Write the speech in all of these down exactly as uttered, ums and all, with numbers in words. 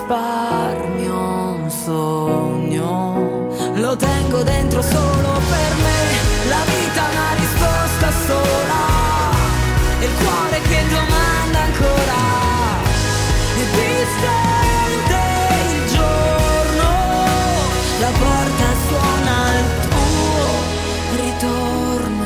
risparmio un sogno, lo tengo dentro solo per me, la vita è una risposta sola, e il cuore che domanda ancora, è distante il giorno, la porta suona al tuo ritorno.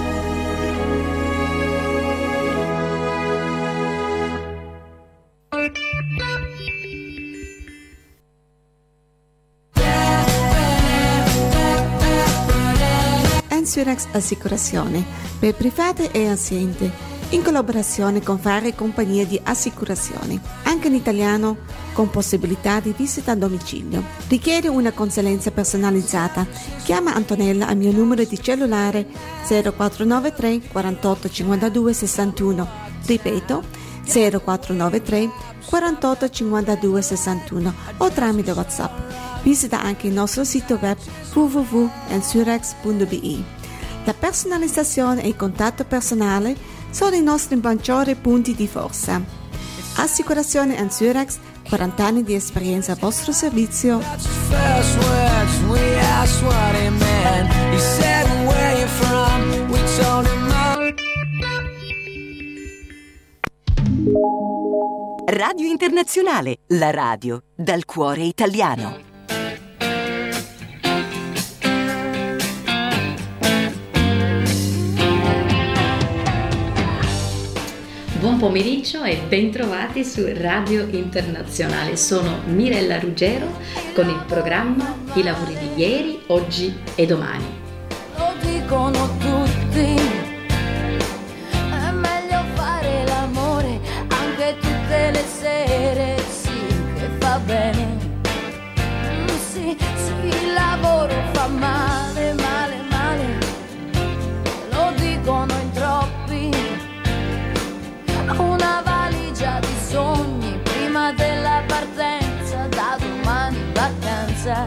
Ensurex Assicurazione per private e aziende, in collaborazione con varie compagnie di assicurazione, anche in italiano, con possibilità di visita a domicilio. Richiede una consulenza personalizzata? Chiama Antonella al mio numero di cellulare zero quattro nove tre quarantotto cinquantadue sessantuno, ripeto zero quattro nove tre quarantotto cinquantadue sessantuno, o tramite WhatsApp. Visita anche il nostro sito web w w w punto ensurex punto b i. La personalizzazione e il contatto personale sono i nostri maggiori punti di forza. Assicurazione Ensurex, quaranta anni di esperienza a vostro servizio. Radio Internazionale, la radio dal cuore italiano. Buon pomeriggio e bentrovati su Radio Internazionale. Sono Mirella Ruggero con il programma I lavori di ieri, oggi e domani. Lo dicono tutti, è meglio fare l'amore anche tutte le sere, sì, che fa bene. Sì, sì, il lavoro fa male, male, male, lo dicono in troppi. Una valigia di sogni prima della partenza, da domani in vacanza.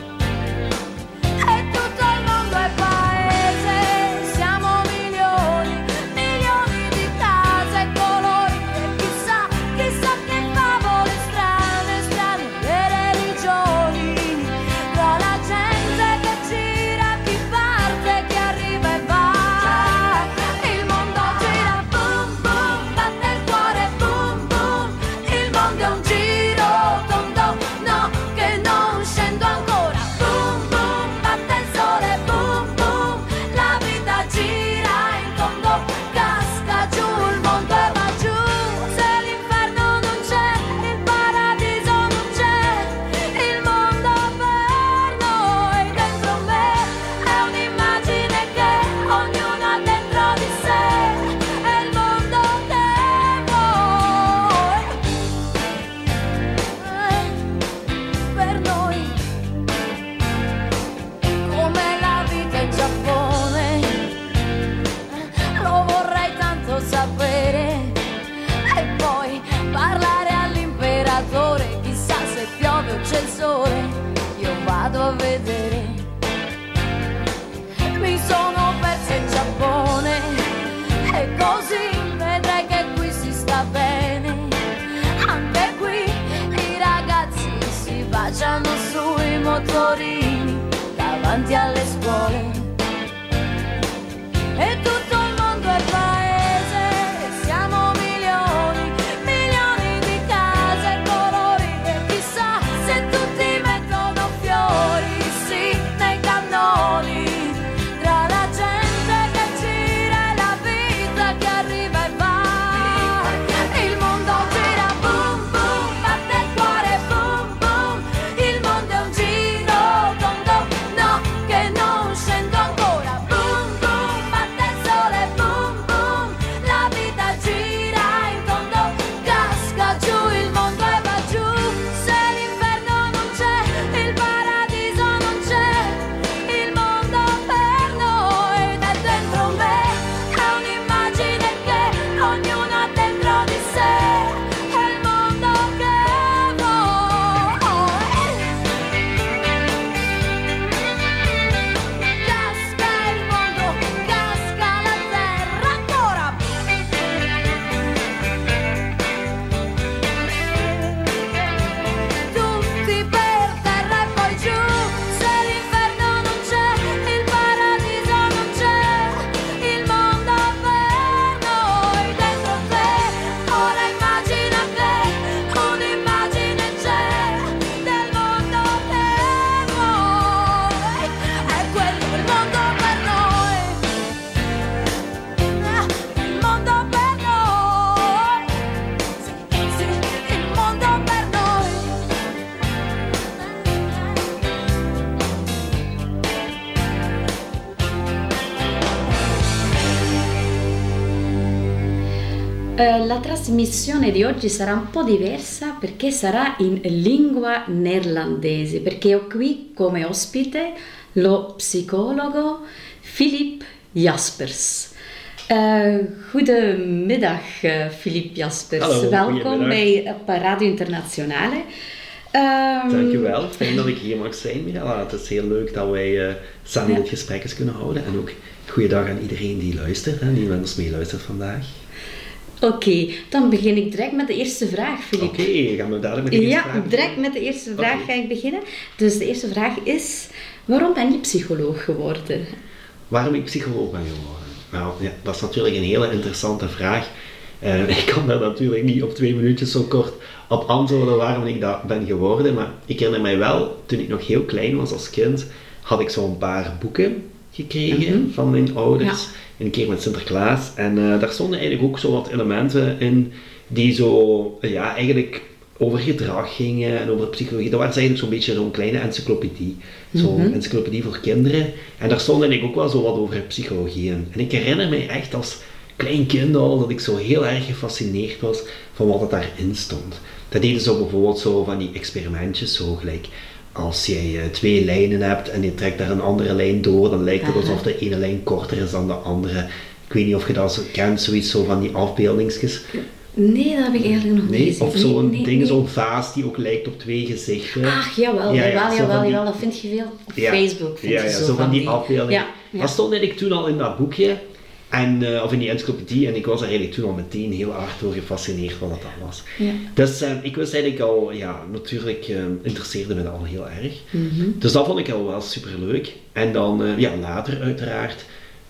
E tutto il mondo è paese, siamo milioni, milioni di case e colori, e chissà, chissà che favole strane, strane le religioni, tra la gente che gira, chi parte, chi arriva e va. Il mondo gira, boom boom, batte il cuore, boom boom, il mondo è un giro tondo, no, che non scendo ancora, boom boom, batte il sole, boom boom, la vita gira in tondo, casca giù il mondo e va giù. Se l'inferno non c'è, il paradiso non c'è, il mondo per noi dentro me è un'immagine che ognuno ha dentro di sé, è il mondo che vuoi, eh, per noi, come la vita in Giappone, lo vorrei tanto sapere, e poi parlare all'imperatore, chissà se piove o c'è il sole, io vado a vedere. Mi sono persa in Giappone, e così vedrai che qui si sta bene, anche qui i ragazzi si baciano sui motorini davanti alle scuole. E tutto il mondo è paese, siamo milioni, milioni di case e colori, e chissà se tutti mettono fiori, sì, nei cannoni, tra la gente che gira e la vita che arriva e va. Il mondo gira, boom boom, batte il cuore, boom boom, il mondo è un giro tondo, no, che Uh, la trasmissione di oggi sarà un po' diversa perché sarà in lingua neerlandese, perché ho qui come ospite lo psicologo Filip Jaspers. Uh, goedemiddag, uh, Filip Jaspers. Hallo, welkom bij Radio Internationale. Um, Dankjewel, fijn dat ik hier mag zijn, Mirella. Het is heel leuk dat wij uh, samen ja. dit gesprek eens kunnen houden. En ook goeiedag aan iedereen die luistert, hè, die met ons meeluistert vandaag. Oké, okay, dan begin ik direct met de eerste vraag, Filip. Oké, okay, gaan we dadelijk met de eerste ja, vraag Ja, direct met de eerste vraag okay. ga ik beginnen. Dus de eerste vraag is, waarom ben je psycholoog geworden? Waarom ik psycholoog ben geworden? Nou, ja, dat is natuurlijk een hele interessante vraag. Uh, ik kan daar natuurlijk niet op twee minuutjes zo kort op antwoorden waarom ik dat ben geworden. Maar ik herinner mij wel, toen ik nog heel klein was als kind, had ik zo'n paar boeken gekregen mm-hmm. van mijn ouders. Ja. Een keer met Sinterklaas. En uh, daar stonden eigenlijk ook zo wat elementen in die zo, ja, eigenlijk over gedrag gingen en over psychologie. Dat was eigenlijk zo'n beetje zo'n kleine encyclopedie. Zo'n mm-hmm. encyclopedie voor kinderen. En daar stond eigenlijk ook wel zo wat over psychologie in. En ik herinner mij echt als klein kind al dat ik zo heel erg gefascineerd was van wat het daarin stond. Dat deden ze bijvoorbeeld zo van die experimentjes, zo gelijk als jij uh, twee lijnen hebt en je trekt daar een andere lijn door, dan lijkt het Aha. alsof de ene lijn korter is dan de andere. Ik weet niet of je dat zo kent, zoiets zo van die afbeeldingsjes. Nee, dat heb ik eigenlijk nog nee? niet gezien. Of zo'n nee, nee, ding, nee. zo'n vaas die ook lijkt op twee gezichten. Ach, jawel, ja, ja, jawel, jawel, jawel, die... jawel, dat vind je veel op ja, Facebook. Vind ja, je ja, zo, zo van die, die... afbeeldingen. Ja, ja. Dat stond eigenlijk toen al in dat boekje. En, uh, of in die encyclopedie, en ik was er eigenlijk toen al meteen heel hard door gefascineerd wat dat was. Ja. Dus uh, ik wist eigenlijk al, ja, natuurlijk uh, interesseerde me dat al heel erg. Mm-hmm. Dus dat vond ik al wel super leuk. En dan, uh, ja, later uiteraard,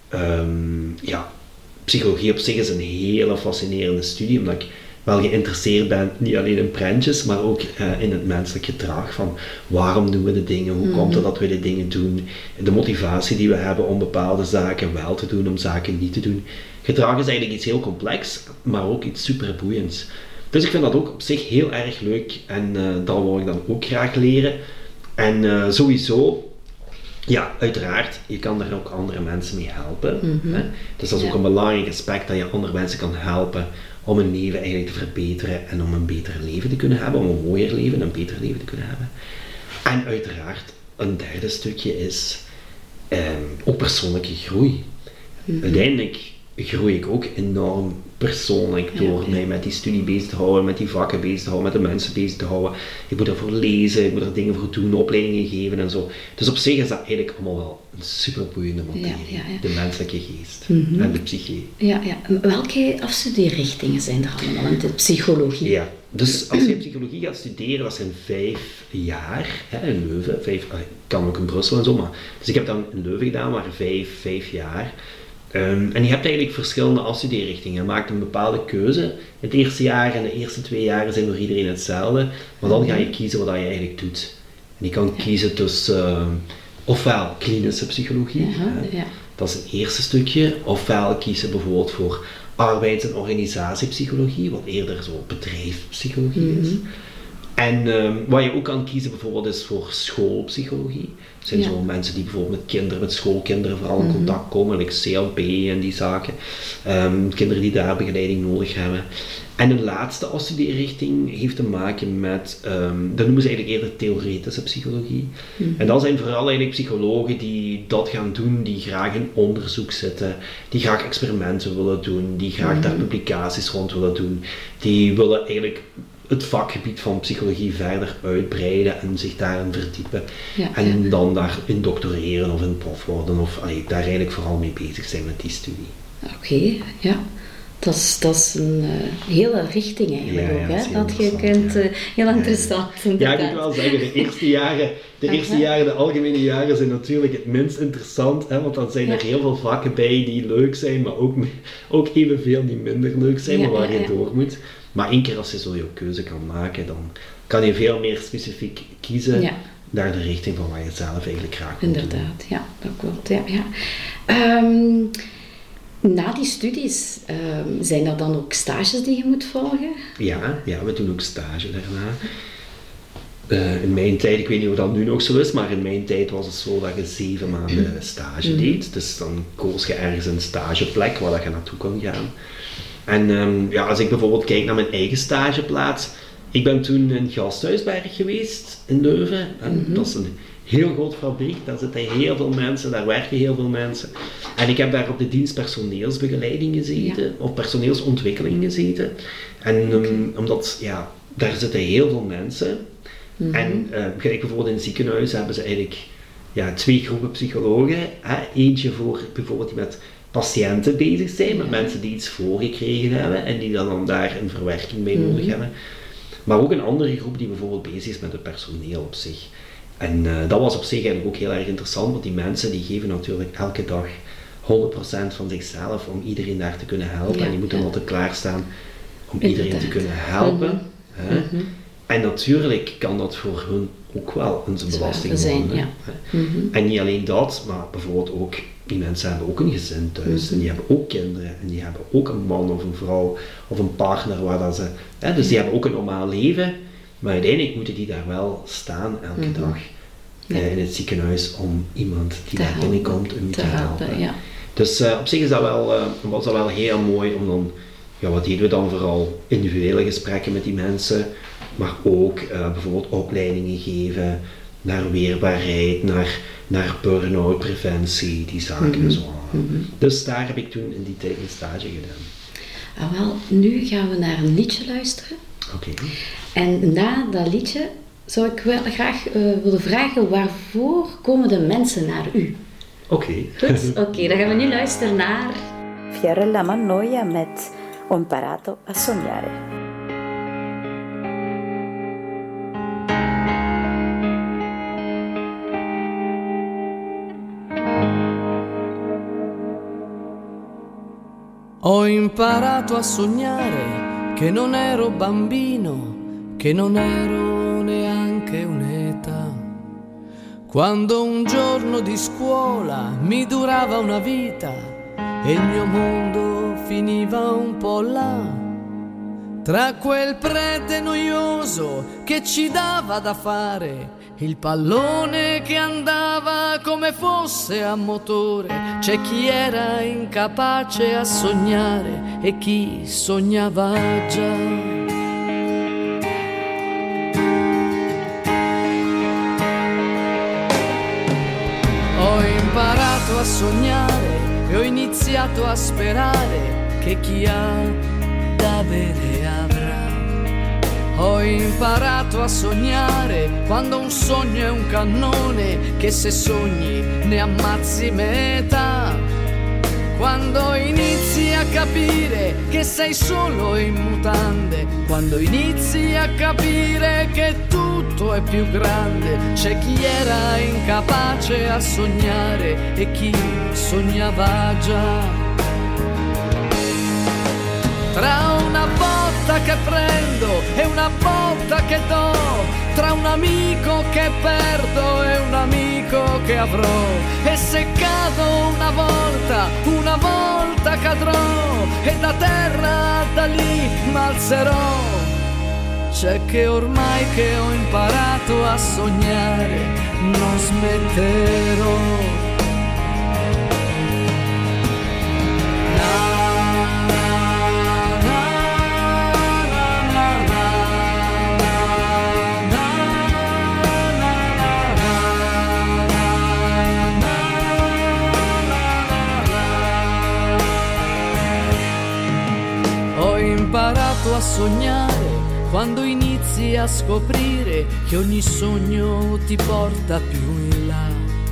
um, ja, psychologie op zich is een hele fascinerende studie, omdat ik wel geïnteresseerd ben, niet alleen in prentjes, maar ook uh, in het menselijk gedrag van waarom doen we de dingen, hoe mm-hmm. komt het dat we de dingen doen, de motivatie die we hebben om bepaalde zaken wel te doen, om zaken niet te doen. Gedrag is eigenlijk iets heel complex, maar ook iets super boeiends. Dus ik vind dat ook op zich heel erg leuk en uh, dat wil ik dan ook graag leren. En uh, sowieso, ja, uiteraard, je kan daar ook andere mensen mee helpen. Mm-hmm. Hè? Dus dat is ook ja. een belangrijk aspect, dat je andere mensen kan helpen om hun leven eigenlijk te verbeteren en om een beter leven te kunnen hebben, om een mooier leven, een beter leven te kunnen hebben. En uiteraard, een derde stukje is um, ook persoonlijke groei. Mm-hmm. Uiteindelijk groei ik ook enorm persoonlijk door ja, ja. mij met die studie bezig te houden, met die vakken bezig te houden, met de mensen bezig te houden. Ik moet ervoor lezen, ik moet er dingen voor doen, opleidingen geven en zo. Dus op zich is dat eigenlijk allemaal wel een super boeiende materie. Ja, ja, ja. De menselijke geest mm-hmm. en de psyche. Ja, ja. Welke afstudeerrichtingen zijn er allemaal in de psychologie? Ja, dus als je psychologie gaat studeren, dat zijn vijf jaar hè, in Leuven. Vijf, ik kan ook in Brussel en zo, maar. Dus ik heb dan in Leuven gedaan, maar vijf, vijf jaar. Um, en je hebt eigenlijk verschillende afstudeerrichtingen. Je maakt een bepaalde keuze. Het eerste jaar en de eerste twee jaren zijn voor iedereen hetzelfde. Maar dan ga je kiezen wat je eigenlijk doet. En je kan kiezen tussen uh, ofwel klinische psychologie, ja, hè, ja. dat is het eerste stukje. Ofwel kiezen bijvoorbeeld voor arbeids- en organisatiepsychologie, wat eerder zo bedrijfspsychologie mm-hmm. is. En um, wat je ook kan kiezen bijvoorbeeld is voor schoolpsychologie. Dat zijn ja. zo mensen die bijvoorbeeld met kinderen, met schoolkinderen vooral in mm-hmm. contact komen, like C L P en die zaken. Um, kinderen die daar begeleiding nodig hebben. En een laatste afstudeerrichting heeft te maken met, um, dat noemen ze eigenlijk eerder theoretische psychologie. Mm-hmm. En dat zijn vooral eigenlijk psychologen die dat gaan doen, die graag in onderzoek zitten, die graag experimenten willen doen, die graag mm-hmm. daar publicaties rond willen doen, die willen eigenlijk het vakgebied van psychologie verder uitbreiden en zich daarin verdiepen. Ja, en ja. dan daarin doctoreren of in prof worden of allee, daar eigenlijk vooral mee bezig zijn met die studie. Oké, okay, ja. Dat is, dat is een uh, hele richting eigenlijk ja, ook, ja, hè? Dat je kunt, uh, heel ja. interessant. Ja, ik moet wel zeggen, de eerste jaren, de eerste jaren, de algemene jaren zijn natuurlijk het minst interessant, hè? Want dan zijn ja. er heel veel vakken bij die leuk zijn, maar ook, ook evenveel die minder leuk zijn, ja, maar waar ja, je ja. door moet. Maar één keer als je zo je keuze kan maken, dan kan je veel meer specifiek kiezen ja. naar de richting van wat je zelf eigenlijk graag wil doen. Inderdaad, ja, dat klopt. Ja, ja. Um, na die studies, um, zijn er dan ook stages die je moet volgen? Ja, ja, we doen ook stage daarna. Uh, in mijn tijd, ik weet niet of dat nu nog zo is, maar in mijn tijd was het zo dat je zeven maanden stage deed. Dus dan koos je ergens een stageplek waar dat je naartoe kon gaan. En um, ja, als ik bijvoorbeeld kijk naar mijn eigen stageplaats, ik ben toen in Gasthuisberg geweest in Leuven. En mm-hmm. Dat is een heel groot fabriek, daar zitten heel veel mensen, daar werken heel veel mensen. En ik heb daar op de dienst personeelsbegeleiding gezeten, ja. of personeelsontwikkeling gezeten. En um, okay. omdat, ja, daar zitten heel veel mensen. Mm-hmm. En uh, gelijk bijvoorbeeld in het ziekenhuis hebben ze eigenlijk ja, twee groepen psychologen. Hè? Eentje voor bijvoorbeeld die met patiënten bezig zijn, met ja. mensen die iets voorgekregen hebben en die dan, dan daar een verwerking mee nodig mm-hmm. hebben. Maar ook een andere groep die bijvoorbeeld bezig is met het personeel op zich. En uh, dat was op zich eigenlijk ook heel erg interessant, want die mensen die geven natuurlijk elke dag honderd procent van zichzelf om iedereen daar te kunnen helpen. Ja, en die moeten ja. altijd klaarstaan om Inderdaad. iedereen te kunnen helpen. Mm-hmm. Hè? Mm-hmm. En natuurlijk kan dat voor hun ook wel een belasting zijn. worden. Ja. Mm-hmm. En niet alleen dat, maar bijvoorbeeld ook, die mensen hebben ook een gezin thuis. Mm-hmm. En die hebben ook kinderen. En die hebben ook een man of een vrouw of een partner waar dat ze... Hè, dus die hebben ook een normaal leven. Maar uiteindelijk moeten die daar wel staan elke mm-hmm. dag ja. uh, in het ziekenhuis om iemand die te daar helpen. binnenkomt om te helpen. helpen. Ja. Dus uh, op zich is dat wel, uh, was dat wel heel mooi om dan... Ja, wat deden we dan vooral? Individuele gesprekken met die mensen, maar ook uh, bijvoorbeeld opleidingen geven naar weerbaarheid, naar, naar burn-out preventie, die zaken mm-hmm. en zo. Mm-hmm. Dus daar heb ik toen in die tijd een stage gedaan. Ah, wel, nu gaan we naar een liedje luisteren. Oké. Okay. En na dat liedje zou ik wel graag uh, willen vragen, waarvoor komen de mensen naar u? Oké. Okay. Goed, oké, okay, dan gaan we nu luisteren naar... Fiorella Mannoia met Ho imparato a sognare. Ho imparato a sognare che non ero bambino, che non ero neanche un'età. Quando un giorno di scuola mi durava una vita e il mio mondo finiva un po' là, tra quel prete noioso che ci dava da fare, il pallone che andava come fosse a motore. C'è chi era incapace a sognare e chi sognava già. Ho imparato a sognare e ho iniziato a sperare che chi ha da avere avrà. Ho imparato a sognare quando un sogno è un cannone che se sogni ne ammazzi metà. Quando inizi a capire che sei solo in mutande, quando inizi a capire che tutto è più grande. C'è chi era incapace a sognare e chi sognava già. Tra una botta che prendo e una botta che do, tra un amico che perdo e un amico che avrò, e se cado una volta, una volta cadrò, e da terra da lì m'alzerò. C'è che ormai che ho imparato a sognare non smetterò. Ho imparato a sognare quando inizi a scoprire che ogni sogno ti porta più in là,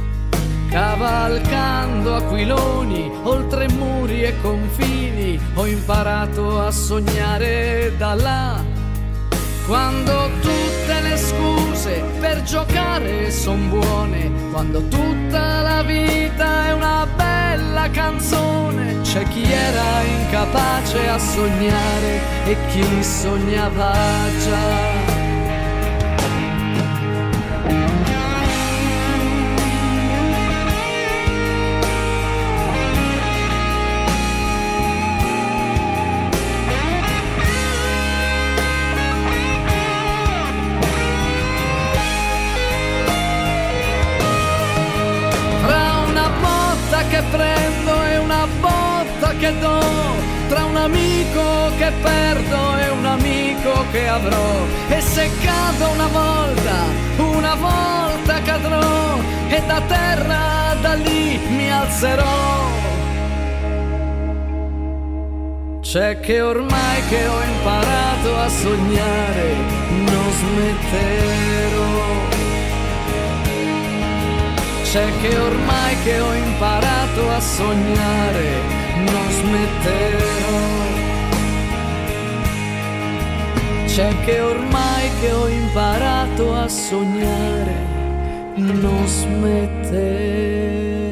cavalcando aquiloni oltre muri e confini. Ho imparato a sognare da là, quando tutte le scuse per giocare son buone, quando tutta la vita è una bella canzone. C'è chi era incapace a sognare e chi sognava già. Che prendo e una botta che do, tra un amico che perdo e un amico che avrò. E se cado una volta, una volta cadrò, e da terra da lì mi alzerò. C'è che ormai che ho imparato a sognare non smetterò. C'è che ormai che ho imparato a sognare non smetterò. C'è che ormai che ho imparato a sognare non smetterò.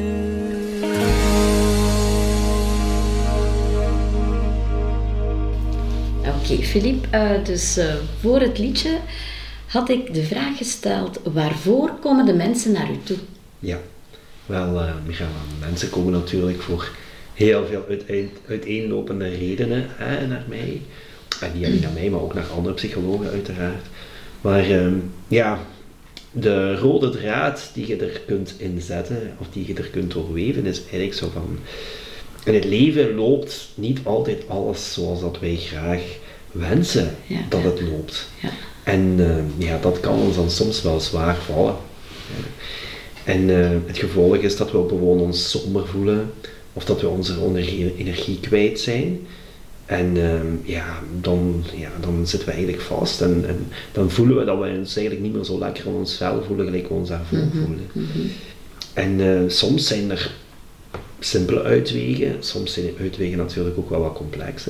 Oké, okay, Filip, uh, dus uh, voor het liedje had ik de vraag gesteld, waarvoor komen de mensen naar u toe? Ja, wel, uh, Michaela, mensen komen natuurlijk voor heel veel uiteen, uiteenlopende redenen hè, naar mij. En niet alleen naar mij, maar ook naar andere psychologen uiteraard. Maar um, ja, de rode draad die je er kunt inzetten, of die je er kunt doorweven, is eigenlijk zo van... In het leven loopt niet altijd alles zoals dat wij graag wensen ja, dat het loopt. Ja. En uh, ja, dat kan ons dan soms wel zwaar vallen. Ja. En uh, het gevolg is dat we gewoon ons somber voelen, of dat we onze energie kwijt zijn. En uh, ja, dan, ja, dan zitten we eigenlijk vast en, en dan voelen we dat we ons eigenlijk niet meer zo lekker in ons vel voelen, gelijk we ons daarvoor mm-hmm. voelen. Mm-hmm. En uh, soms zijn er simpele uitwegen, soms zijn de uitwegen natuurlijk ook wel wat complexer.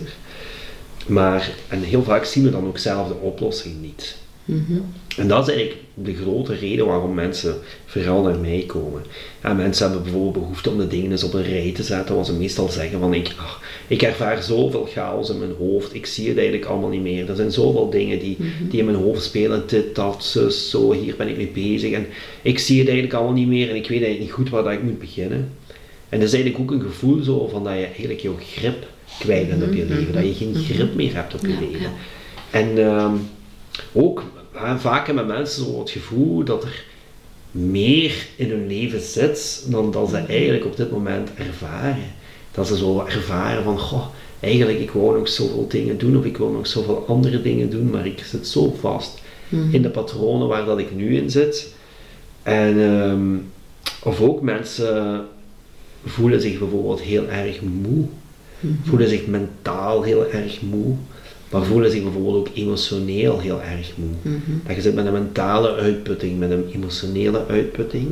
Maar, en heel vaak zien we dan ook zelf de oplossing niet. Mm-hmm. En dat is eigenlijk de grote reden waarom mensen vooral naar mij komen. Ja, mensen hebben bijvoorbeeld behoefte om de dingen eens op een rij te zetten, wat ze meestal zeggen van ik, ach, ik ervaar zoveel chaos in mijn hoofd, ik zie het eigenlijk allemaal niet meer. Er zijn zoveel dingen die, mm-hmm. die in mijn hoofd spelen, dit, dat, zus, zo, hier ben ik mee bezig en ik zie het eigenlijk allemaal niet meer en ik weet eigenlijk niet goed waar dat ik moet beginnen. En dat is eigenlijk ook een gevoel zo van dat je eigenlijk jouw grip kwijt bent op je leven, dat je geen grip meer hebt op je ja, leven. Ja. En um, ook uh, vaak hebben mensen zo het gevoel dat er meer in hun leven zit dan dat ze eigenlijk op dit moment ervaren. Dat ze zo ervaren van, goh, eigenlijk ik wou nog zoveel dingen doen of ik wil nog zoveel andere dingen doen, maar ik zit zo vast mm-hmm. in de patronen waar dat ik nu in zit. En um, of ook mensen voelen zich bijvoorbeeld heel erg moe, mm-hmm. voelen zich mentaal heel erg moe, maar voelen zich bijvoorbeeld ook emotioneel heel erg moe. Mm-hmm. Dat je zit met een mentale uitputting, met een emotionele uitputting.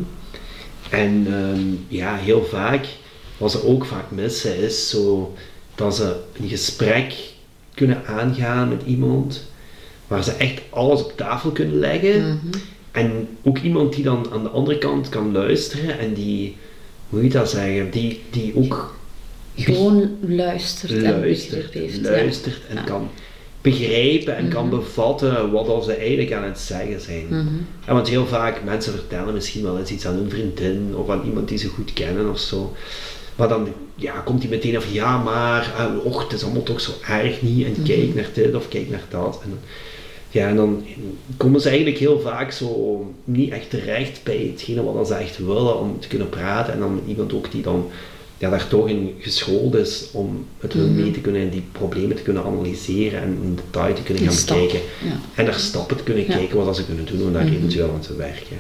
En um, ja, heel vaak, wat ze ook vaak missen, is zo dat ze een gesprek kunnen aangaan met iemand, waar ze echt alles op tafel kunnen leggen. Mm-hmm. En ook iemand die dan aan de andere kant kan luisteren en die, hoe moet je dat zeggen, die, die ook gewoon luistert, luistert en heeft, luistert ja. en ja. kan begrijpen en mm-hmm. kan bevatten wat ze eigenlijk aan het zeggen zijn. Mm-hmm. En want heel vaak, mensen vertellen misschien wel eens iets aan hun vriendin of aan iemand die ze goed kennen of zo. Maar dan ja, komt hij meteen af, ja maar, uh, och, het is allemaal toch zo erg niet en mm-hmm. kijk naar dit of kijk naar dat. En, ja, en dan komen ze eigenlijk heel vaak zo niet echt terecht bij hetgene wat ze echt willen om te kunnen praten. En dan met iemand ook die dan ja, daar toch in geschoold is om met hun mm-hmm. mee te kunnen en die problemen te kunnen analyseren en in detail te kunnen gaan stap. bekijken. Ja. En daar stappen te kunnen ja. kijken wat ze kunnen doen om daar mm-hmm. eventueel aan te werken.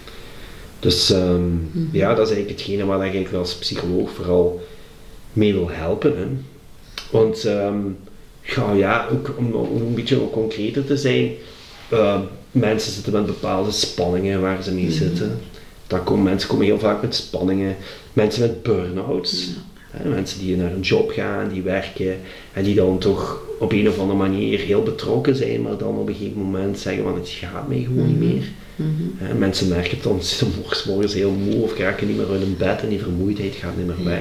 Dus um, mm-hmm. ja, dat is eigenlijk hetgene waar ik eigenlijk als psycholoog vooral mee wil helpen. Hè. Want um, ja, ja, ook om, om een beetje ook concreter te zijn, uh, mensen zitten met bepaalde spanningen waar ze mee mm-hmm. zitten. Dan komen, mensen komen heel vaak met spanningen, mensen met burn-outs, ja. hè, mensen die naar een job gaan, die werken en die dan toch op een of andere manier heel betrokken zijn, maar dan op een gegeven moment zeggen van het gaat mij gewoon mm-hmm. niet meer. Mm-hmm. Hè, mensen merken het dan, ze zijn morgens heel moe of raken niet meer uit hun bed en die vermoeidheid gaat niet meer weg.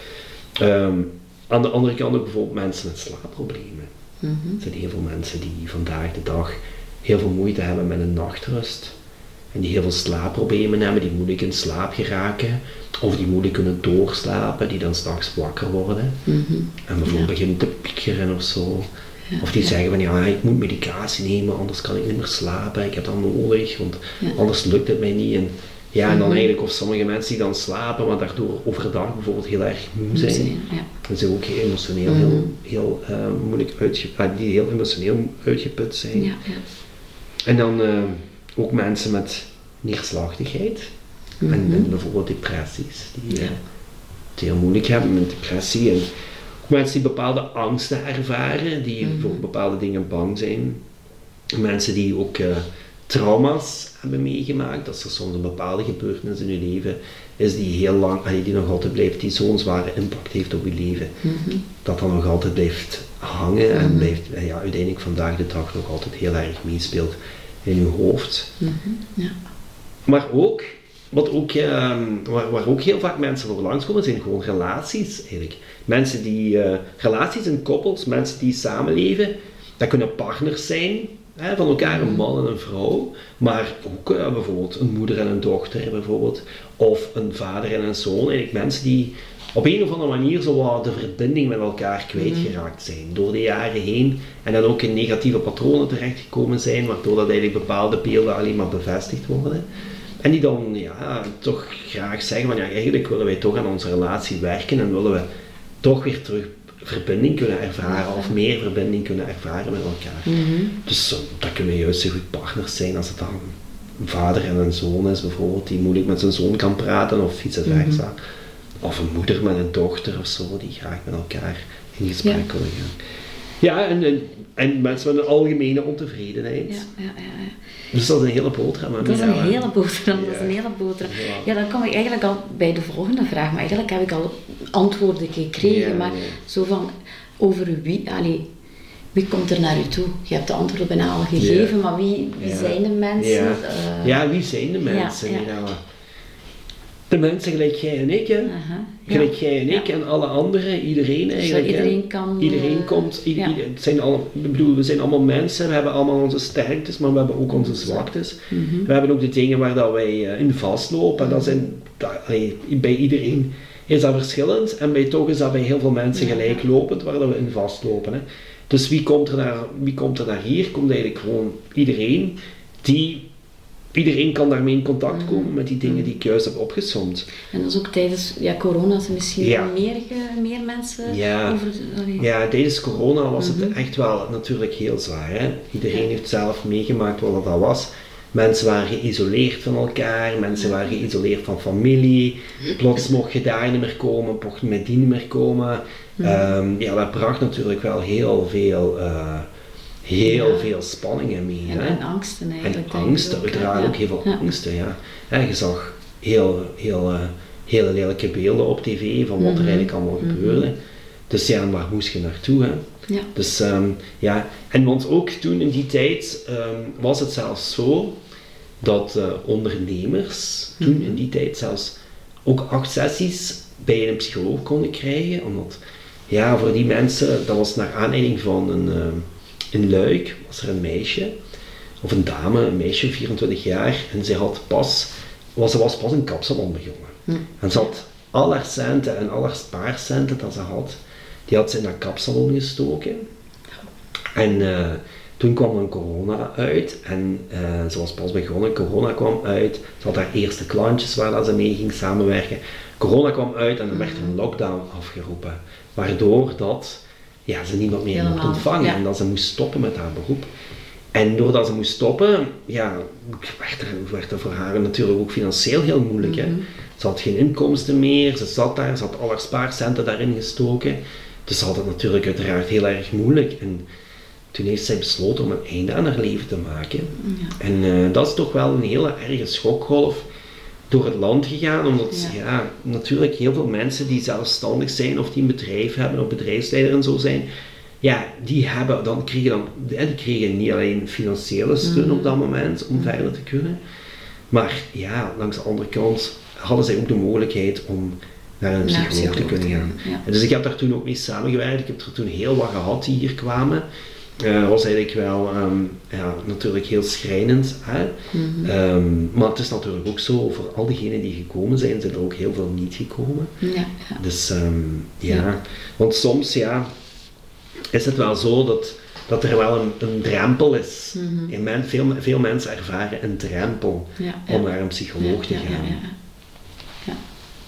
Um, aan de andere kant ook bijvoorbeeld mensen met slaapproblemen. Mm-hmm. Er zijn heel veel mensen die vandaag de dag heel veel moeite hebben met een nachtrust. En die heel veel slaapproblemen hebben, die moeilijk in slaap geraken. Of die moeilijk kunnen doorslapen, die dan s'nachts wakker worden. Mm-hmm. En bijvoorbeeld ja. beginnen te piekeren of zo. Ja, of die ja. zeggen van ja, ik moet medicatie nemen, anders kan ik niet meer slapen. Ik heb dat nodig, want ja. anders lukt het mij niet. En Ja, en dan Mm-hmm. eigenlijk of sommige mensen die dan slapen, maar daardoor overdag bijvoorbeeld heel erg moe zijn. Zijn, ja. En ze ook heel emotioneel Mhm. heel, heel uh, moeilijk uitgeput, die heel emotioneel uitgeput zijn. Ja, ja. En dan uh, ook mensen met neerslachtigheid Mhm. en, en bijvoorbeeld depressies, die uh, Ja. het heel moeilijk hebben met depressie. En ook mensen die bepaalde angsten ervaren, die Mhm. voor bepaalde dingen bang zijn. Mensen die ook uh, trauma's hebben meegemaakt, dat er soms een bepaalde gebeurtenis in je leven is die heel lang, die nog altijd blijft, die zo'n zware impact heeft op je leven. Mhm. Dat dan nog altijd blijft hangen en Mhm. blijft, ja, uiteindelijk vandaag de dag nog altijd heel erg meespeelt in je hoofd. Mhm. Ja. Maar ook, wat ook eh, waar, waar ook heel vaak mensen voor langskomen, zijn gewoon relaties eigenlijk. Mensen die, uh, relaties en koppels, mensen die samenleven, dat kunnen partners zijn, hè, van elkaar, een man en een vrouw, maar ook uh, bijvoorbeeld een moeder en een dochter bijvoorbeeld, of een vader en een zoon. Eigenlijk mensen die op een of andere manier zo wat de verbinding met elkaar kwijtgeraakt zijn door de jaren heen en dan ook in negatieve patronen terechtgekomen zijn, waardoor dat eigenlijk bepaalde beelden alleen maar bevestigd worden. En die dan ja, toch graag zeggen van ja, eigenlijk willen wij toch aan onze relatie werken en willen we toch weer terug verbinding kunnen ervaren of meer verbinding kunnen ervaren met elkaar. Mhm. Dus uh, dat kunnen juist zo goed partners zijn als het dan een vader en een zoon is bijvoorbeeld, die moeilijk met zijn zoon kan praten of vice versa. Mm-hmm. Of een moeder met een dochter of zo, die graag met elkaar in gesprek ja. willen gaan. Ja, en, en, en mensen met een algemene ontevredenheid. Ja, ja, ja, ja. Dus dat is een hele boterham. Dat is een hele boterham, ja. dat is een hele boterham. Ja. Ja, dan kom ik eigenlijk al bij de volgende vraag, maar eigenlijk heb ik al antwoorden gekregen, ja, maar ja. zo van, over wie, allee, wie komt er naar u toe? Je hebt de antwoorden bijna al gegeven, ja. maar wie, wie ja. zijn de mensen? Ja. Uh, ja, wie zijn de mensen? Ja, ja. De mensen gelijk jij en ik, hè? Uh-huh. Gelijk ja. jij en ik ja. en alle anderen, iedereen eigenlijk. Zo iedereen kan... Iedereen uh, komt, i- ja. ieder, het zijn alle, ik bedoel, we zijn allemaal mensen, we hebben allemaal onze sterktes, maar we hebben ook onze zwaktes. Mm-hmm. We hebben ook de dingen waar dat wij uh, in vastlopen, en dat zijn, dat, allee, bij iedereen is dat verschillend, en bij toch is dat bij heel veel mensen ja. gelijklopend, waar dat we in vastlopen. Hè. Dus wie komt, er naar, wie komt er naar hier? Komt eigenlijk gewoon iedereen die... Iedereen kan daarmee in contact komen met die dingen die ik juist heb opgesomd. En dat is ook tijdens ja, corona, zijn misschien ja. meer, meer mensen ja. over... Allee. Ja, tijdens corona was het mm-hmm. echt wel natuurlijk heel zwaar. Hè? Iedereen ja. heeft zelf meegemaakt wat dat was. Mensen waren geïsoleerd van elkaar, mensen waren geïsoleerd van familie. Plots mocht je daar niet meer komen, mocht je met die niet meer komen. Mm-hmm. Um, ja, dat bracht natuurlijk wel heel veel... Uh, Heel ja. veel spanningen mee. En, hè? en angsten eigenlijk. En angsten, uiteraard ja. ook heel veel ja. angsten. Ja. En je zag heel, heel, uh, hele lelijke beelden op tv van wat mm-hmm. er eigenlijk allemaal mm-hmm. gebeurde. Dus ja, waar moest je naartoe? Hè? Ja. Dus um, ja, en want ook toen in die tijd um, was het zelfs zo dat uh, ondernemers mm-hmm. toen in die tijd zelfs ook acht sessies bij een psycholoog konden krijgen. Omdat ja, voor die mensen, dat was naar aanleiding van een... Uh, In Luik was er een meisje, of een dame, een meisje, vierentwintig jaar, en ze had pas, was, ze was pas een kapsalon begonnen. Hm. En ze had al haar centen en al haar spaarcenten dat ze had, die had ze in dat kapsalon gestoken. En uh, toen kwam dan corona uit, en uh, ze was pas begonnen, corona kwam uit, ze had haar eerste klantjes waar dat ze mee ging samenwerken. Corona kwam uit en er werd een lockdown afgeroepen, waardoor dat... Ja, ze niemand meer mocht ontvangen ja. en dat ze moest stoppen met haar beroep. En doordat ze moest stoppen, ja, werd er, werd er voor haar natuurlijk ook financieel heel moeilijk. Mm-hmm. Hè. Ze had geen inkomsten meer, ze zat daar, ze had al haar spaarcenten daarin gestoken. Dus ze had het natuurlijk uiteraard heel erg moeilijk. En toen heeft zij besloten om een einde aan haar leven te maken. Ja. En uh, dat is toch wel een hele erge schokgolf door het land gegaan, omdat ja. ja, natuurlijk heel veel mensen die zelfstandig zijn of die een bedrijf hebben of bedrijfsleider en zo zijn, ja, die hebben dan kregen dan, die kregen niet alleen financiële steun mm. op dat moment om mm. verder te kunnen, maar ja, langs de andere kant hadden zij ook de mogelijkheid om naar een psycholoog, psycholoog te kunnen gaan. Ja. Dus ik heb daar toen ook mee samengewerkt, ik heb er toen heel wat gehad die hier kwamen. Dat uh, was eigenlijk wel um, ja, natuurlijk heel schrijnend. Hè? Mm-hmm. Um, maar het is natuurlijk ook zo, voor al diegenen die gekomen zijn, zijn er ook heel veel niet gekomen. Ja, ja. Dus um, ja. ja, want soms ja, is het wel zo dat dat er wel een, een drempel is. Mm-hmm. En men, veel, veel mensen ervaren een drempel ja, ja. om naar een psycholoog te ja, gaan. Ja, ja, ja. ja.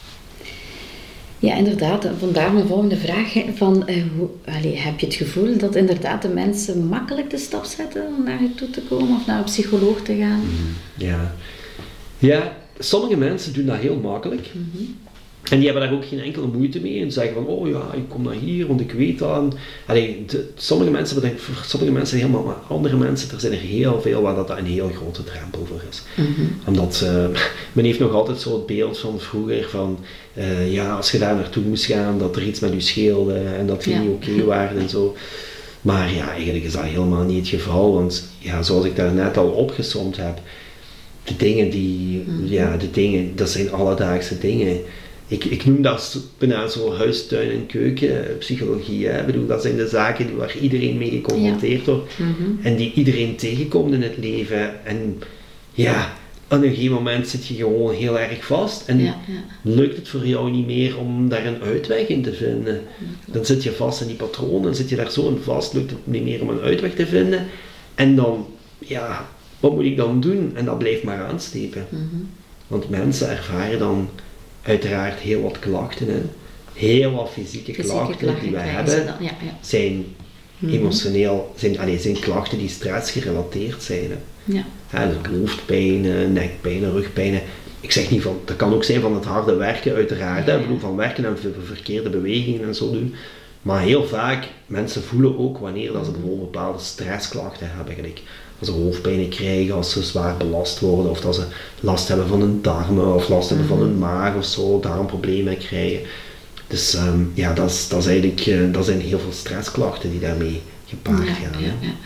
ja inderdaad. Vandaar mijn volgende vraag. Van, uh, hoe, allee, heb je het gevoel dat inderdaad de mensen makkelijk de stap zetten om naar je toe te komen of naar een psycholoog te gaan? Mm, ja. ja, sommige mensen doen dat heel makkelijk. Mm-hmm. En die hebben daar ook geen enkele moeite mee en zeggen van, oh ja, ik kom naar hier, want ik weet dat. Allee, de, sommige mensen, voor sommige mensen helemaal, maar andere mensen, er zijn er heel veel waar dat een heel grote drempel voor is. Mm-hmm. Omdat, uh, men heeft nog altijd zo het beeld van vroeger van, uh, ja, als je daar naartoe moest gaan, dat er iets met je scheelde en dat je ja. niet oké okay waren en zo. Maar ja, eigenlijk is dat helemaal niet het geval, want ja, zoals ik daar net al opgesomd heb, de dingen die, mm-hmm. ja, de dingen, dat zijn alledaagse dingen. Ik, ik noem dat bijna zo huis, tuin en keuken psychologie. Hè. Ik bedoel, dat zijn de zaken waar iedereen mee geconfronteerd ja. wordt mm-hmm. en die iedereen tegenkomt in het leven. En ja, op een gegeven moment zit je gewoon heel erg vast en ja, ja. lukt het voor jou niet meer om daar een uitweg in te vinden. Ja, dan zit je vast in die patroon, dan zit je daar zo in vast, lukt het niet meer om een uitweg te vinden. En dan, ja, wat moet ik dan doen? En dat blijft maar aanstepen. Mm-hmm. Want mensen ervaren dan uiteraard heel wat klachten. Hè. Heel wat fysieke, fysieke klachten, klachten die wij hebben dan, ja, ja. zijn mm-hmm. emotioneel, zijn, allez, zijn klachten die stressgerelateerd zijn. Hè. Ja. Ja, dus hoofdpijn, nekpijn, rugpijn. Ik zeg niet van, dat kan ook zijn van het harde werken uiteraard. Ja, ja. Ik bedoel van werken en verkeerde bewegingen en zo doen. Maar heel vaak, mensen voelen ook wanneer dat ze bijvoorbeeld bepaalde stressklachten hebben. Gelijk. Als ze hoofdpijn krijgen, als ze zwaar belast worden, of dat ze last hebben van hun darmen, of last hebben van hun maag of zo, darmproblemen krijgen. Dus um, ja, dat, is, dat, is eigenlijk, uh, dat zijn heel veel stressklachten die daarmee gepaard ja, gaan. Ja, ja.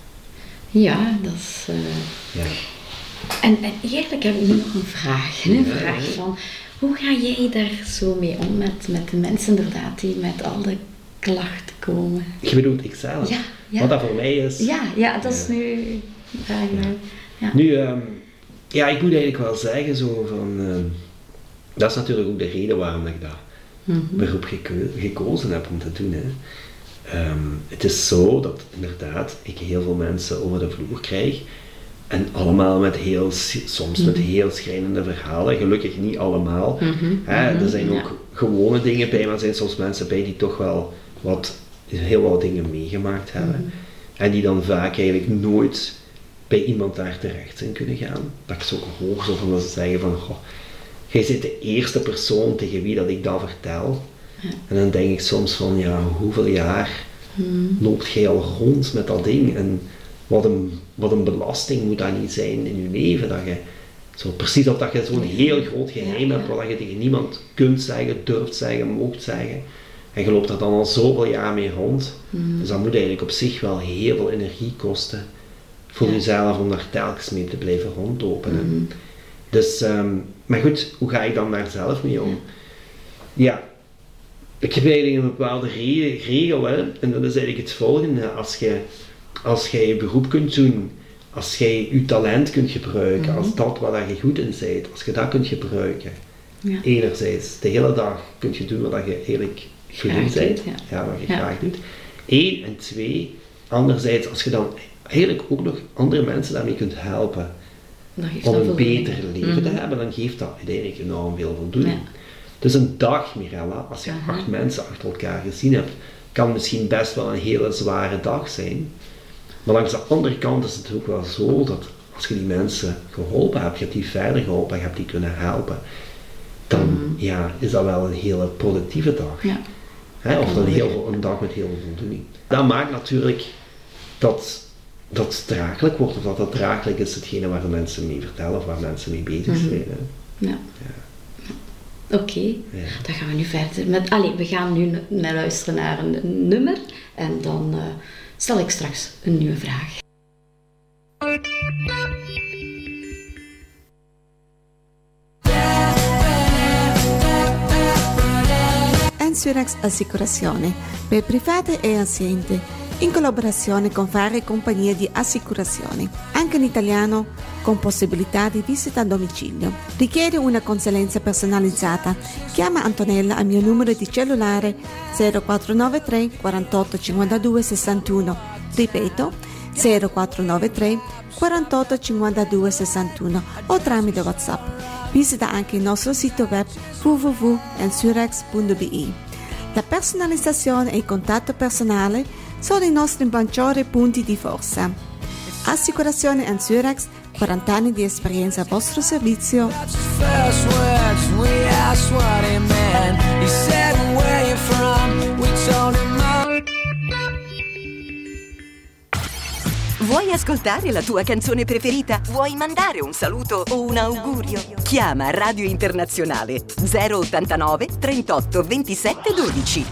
ja, dat is... Uh... Ja. En, en eigenlijk heb ik nu nog een vraag. Een ja, vraag van, hoe ga jij daar zo mee om met, met de mensen inderdaad die met al de klachten komen? Je bedoelt ikzelf? Ja. Ja. Wat dat voor mij is. Ja, ja dat is ja. nu. Ja. Ja. Nu, um, ja, ik moet eigenlijk wel zeggen, zo van. Um, dat is natuurlijk ook de reden waarom ik dat mm-hmm. beroep geko- gekozen heb om te doen. Hè. Um, het is zo dat inderdaad ik heel veel mensen over de vloer krijg. En allemaal met heel, soms mm-hmm. met heel schrijnende verhalen. Gelukkig niet allemaal. Mm-hmm. Hè, mm-hmm. er zijn ook ja. gewone dingen bij, maar er zijn soms mensen bij die toch wel wat. heel wat dingen meegemaakt hebben. Mm-hmm. En die dan vaak eigenlijk nooit bij iemand daar terecht zijn kunnen gaan. Dat ik zo hoor, zo van dat ze zeggen van, goh, jij bent de eerste persoon tegen wie dat ik dat vertel. Ja. En dan denk ik soms van, ja, hoeveel jaar mm-hmm. loopt jij al rond met dat ding? En wat een, wat een belasting moet dat niet zijn in je leven, dat je zo precies of dat je zo'n heel groot geheim ja, ja. hebt, wat je tegen niemand kunt zeggen, durft zeggen, moogt zeggen. En je loopt er dan al zoveel jaar mee rond. Mm. Dus dat moet eigenlijk op zich wel heel veel energie kosten voor ja. jezelf om daar telkens mee te blijven rondlopen. Mm. Dus, um, maar goed, hoe ga ik dan daar zelf mee om? Ja, ik heb eigenlijk een bepaalde re- regel, hè? En dat is eigenlijk het volgende. Als je, als jij je beroep kunt doen, als jij je talent kunt gebruiken, mm. als dat waar je goed in bent, als je dat kunt gebruiken, ja. enerzijds, de hele dag kun je doen wat je eigenlijk goed in bent, ja. ja, wat je ja. graag doet. Eén, en twee, anderzijds, als je dan eigenlijk ook nog andere mensen daarmee kunt helpen om een beter leven mm-hmm. te hebben, dan geeft dat uiteindelijk enorm veel voldoening. Ja. Dus een dag, Mirella, als je uh-huh. acht mensen achter elkaar gezien hebt, kan misschien best wel een hele zware dag zijn. Maar langs de andere kant is het ook wel zo dat als je die mensen geholpen hebt, je hebt die verder geholpen, je hebt die kunnen helpen, dan mm-hmm. ja, is dat wel een hele productieve dag. Ja. He, of dan heel, een dag met heel veel voldoening. Dat maakt natuurlijk dat dat het draaglijk wordt, of dat dat draaglijk is hetgene waar de mensen mee vertellen, of waar mensen mee bezig zijn. Mm-hmm. Ja. Ja. Oké, okay. ja. Dan gaan we nu verder met... Allee, we gaan nu naar luisteren naar een, een nummer en dan uh, stel ik straks een nieuwe vraag. Ensurex Assicurazione per private e aziende, in collaborazione con varie compagnie di assicurazione, anche in italiano, con possibilità di visita a domicilio. Richiede una consulenza personalizzata? Chiama Antonella al mio numero di cellulare zero quattro nove tre quarantotto cinquantadue sessantuno Ripeto, zero quattro nove tre quarantotto cinquantadue sessantuno o tramite WhatsApp. Visita anche il nostro sito web w w w punto ensurex punto b i. La personalizzazione e il contatto personale sono i nostri maggiori punti di forza. Assicurazione Ensurex, quaranta anni di esperienza a vostro servizio. Vuoi ascoltare la tua canzone preferita? Vuoi mandare un saluto o un augurio? Chiama Radio Internazionale zero ottantanove trentotto ventisette dodici.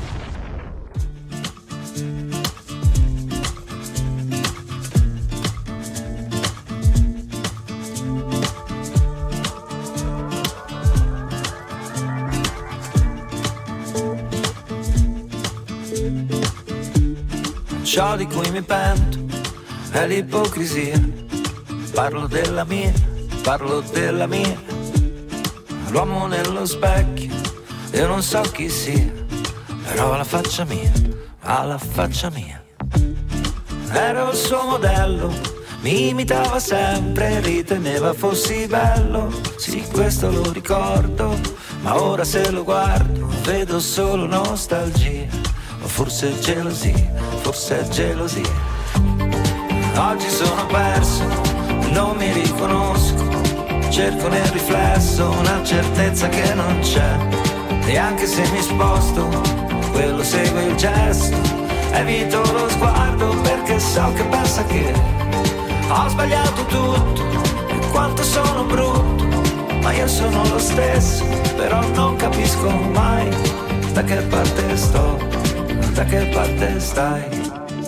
Ciò di cui mi pento è l'ipocrisia. Parlo della mia, parlo della mia. L'uomo nello specchio, io non so chi sia, però la faccia mia, ha la faccia mia. Ero il suo modello, mi imitava sempre, riteneva fossi bello. Sì, questo lo ricordo, ma ora se lo guardo vedo solo nostalgia. O forse gelosia, forse è gelosia. Oggi sono perso, non mi riconosco, cerco nel riflesso una certezza che non c'è. E anche se mi sposto, quello segue il gesto, evito lo sguardo perché so che pensa che ho sbagliato tutto e quanto sono brutto, ma io sono lo stesso, però non capisco mai da che parte sto, da che parte stai.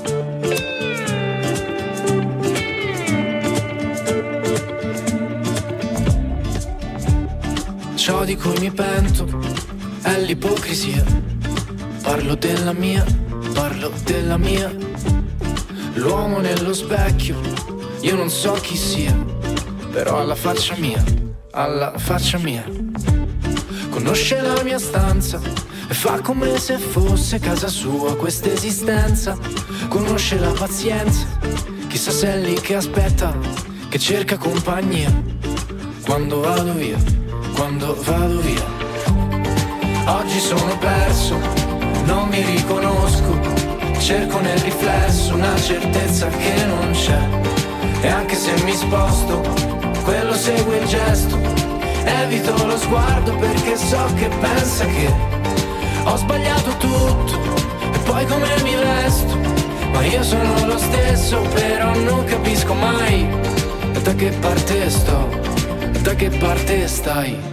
Ciò di cui mi pento è l'ipocrisia. Parlo della mia, parlo della mia. L'uomo nello specchio, io non so chi sia, però alla faccia mia, alla faccia mia. Conosce la mia stanza e fa come se fosse casa sua questa esistenza. Conosce la pazienza, chissà se è lì che aspetta, che cerca compagnia quando vado via, quando vado via. Oggi sono perso, non mi riconosco, cerco nel riflesso una certezza che non c'è. E anche se mi sposto, quello segue il gesto, evito lo sguardo perché so che pensa che ho sbagliato tutto e poi come mi vesto. Ma io sono lo stesso, però non capisco mai da che parte sto, da che parte stai.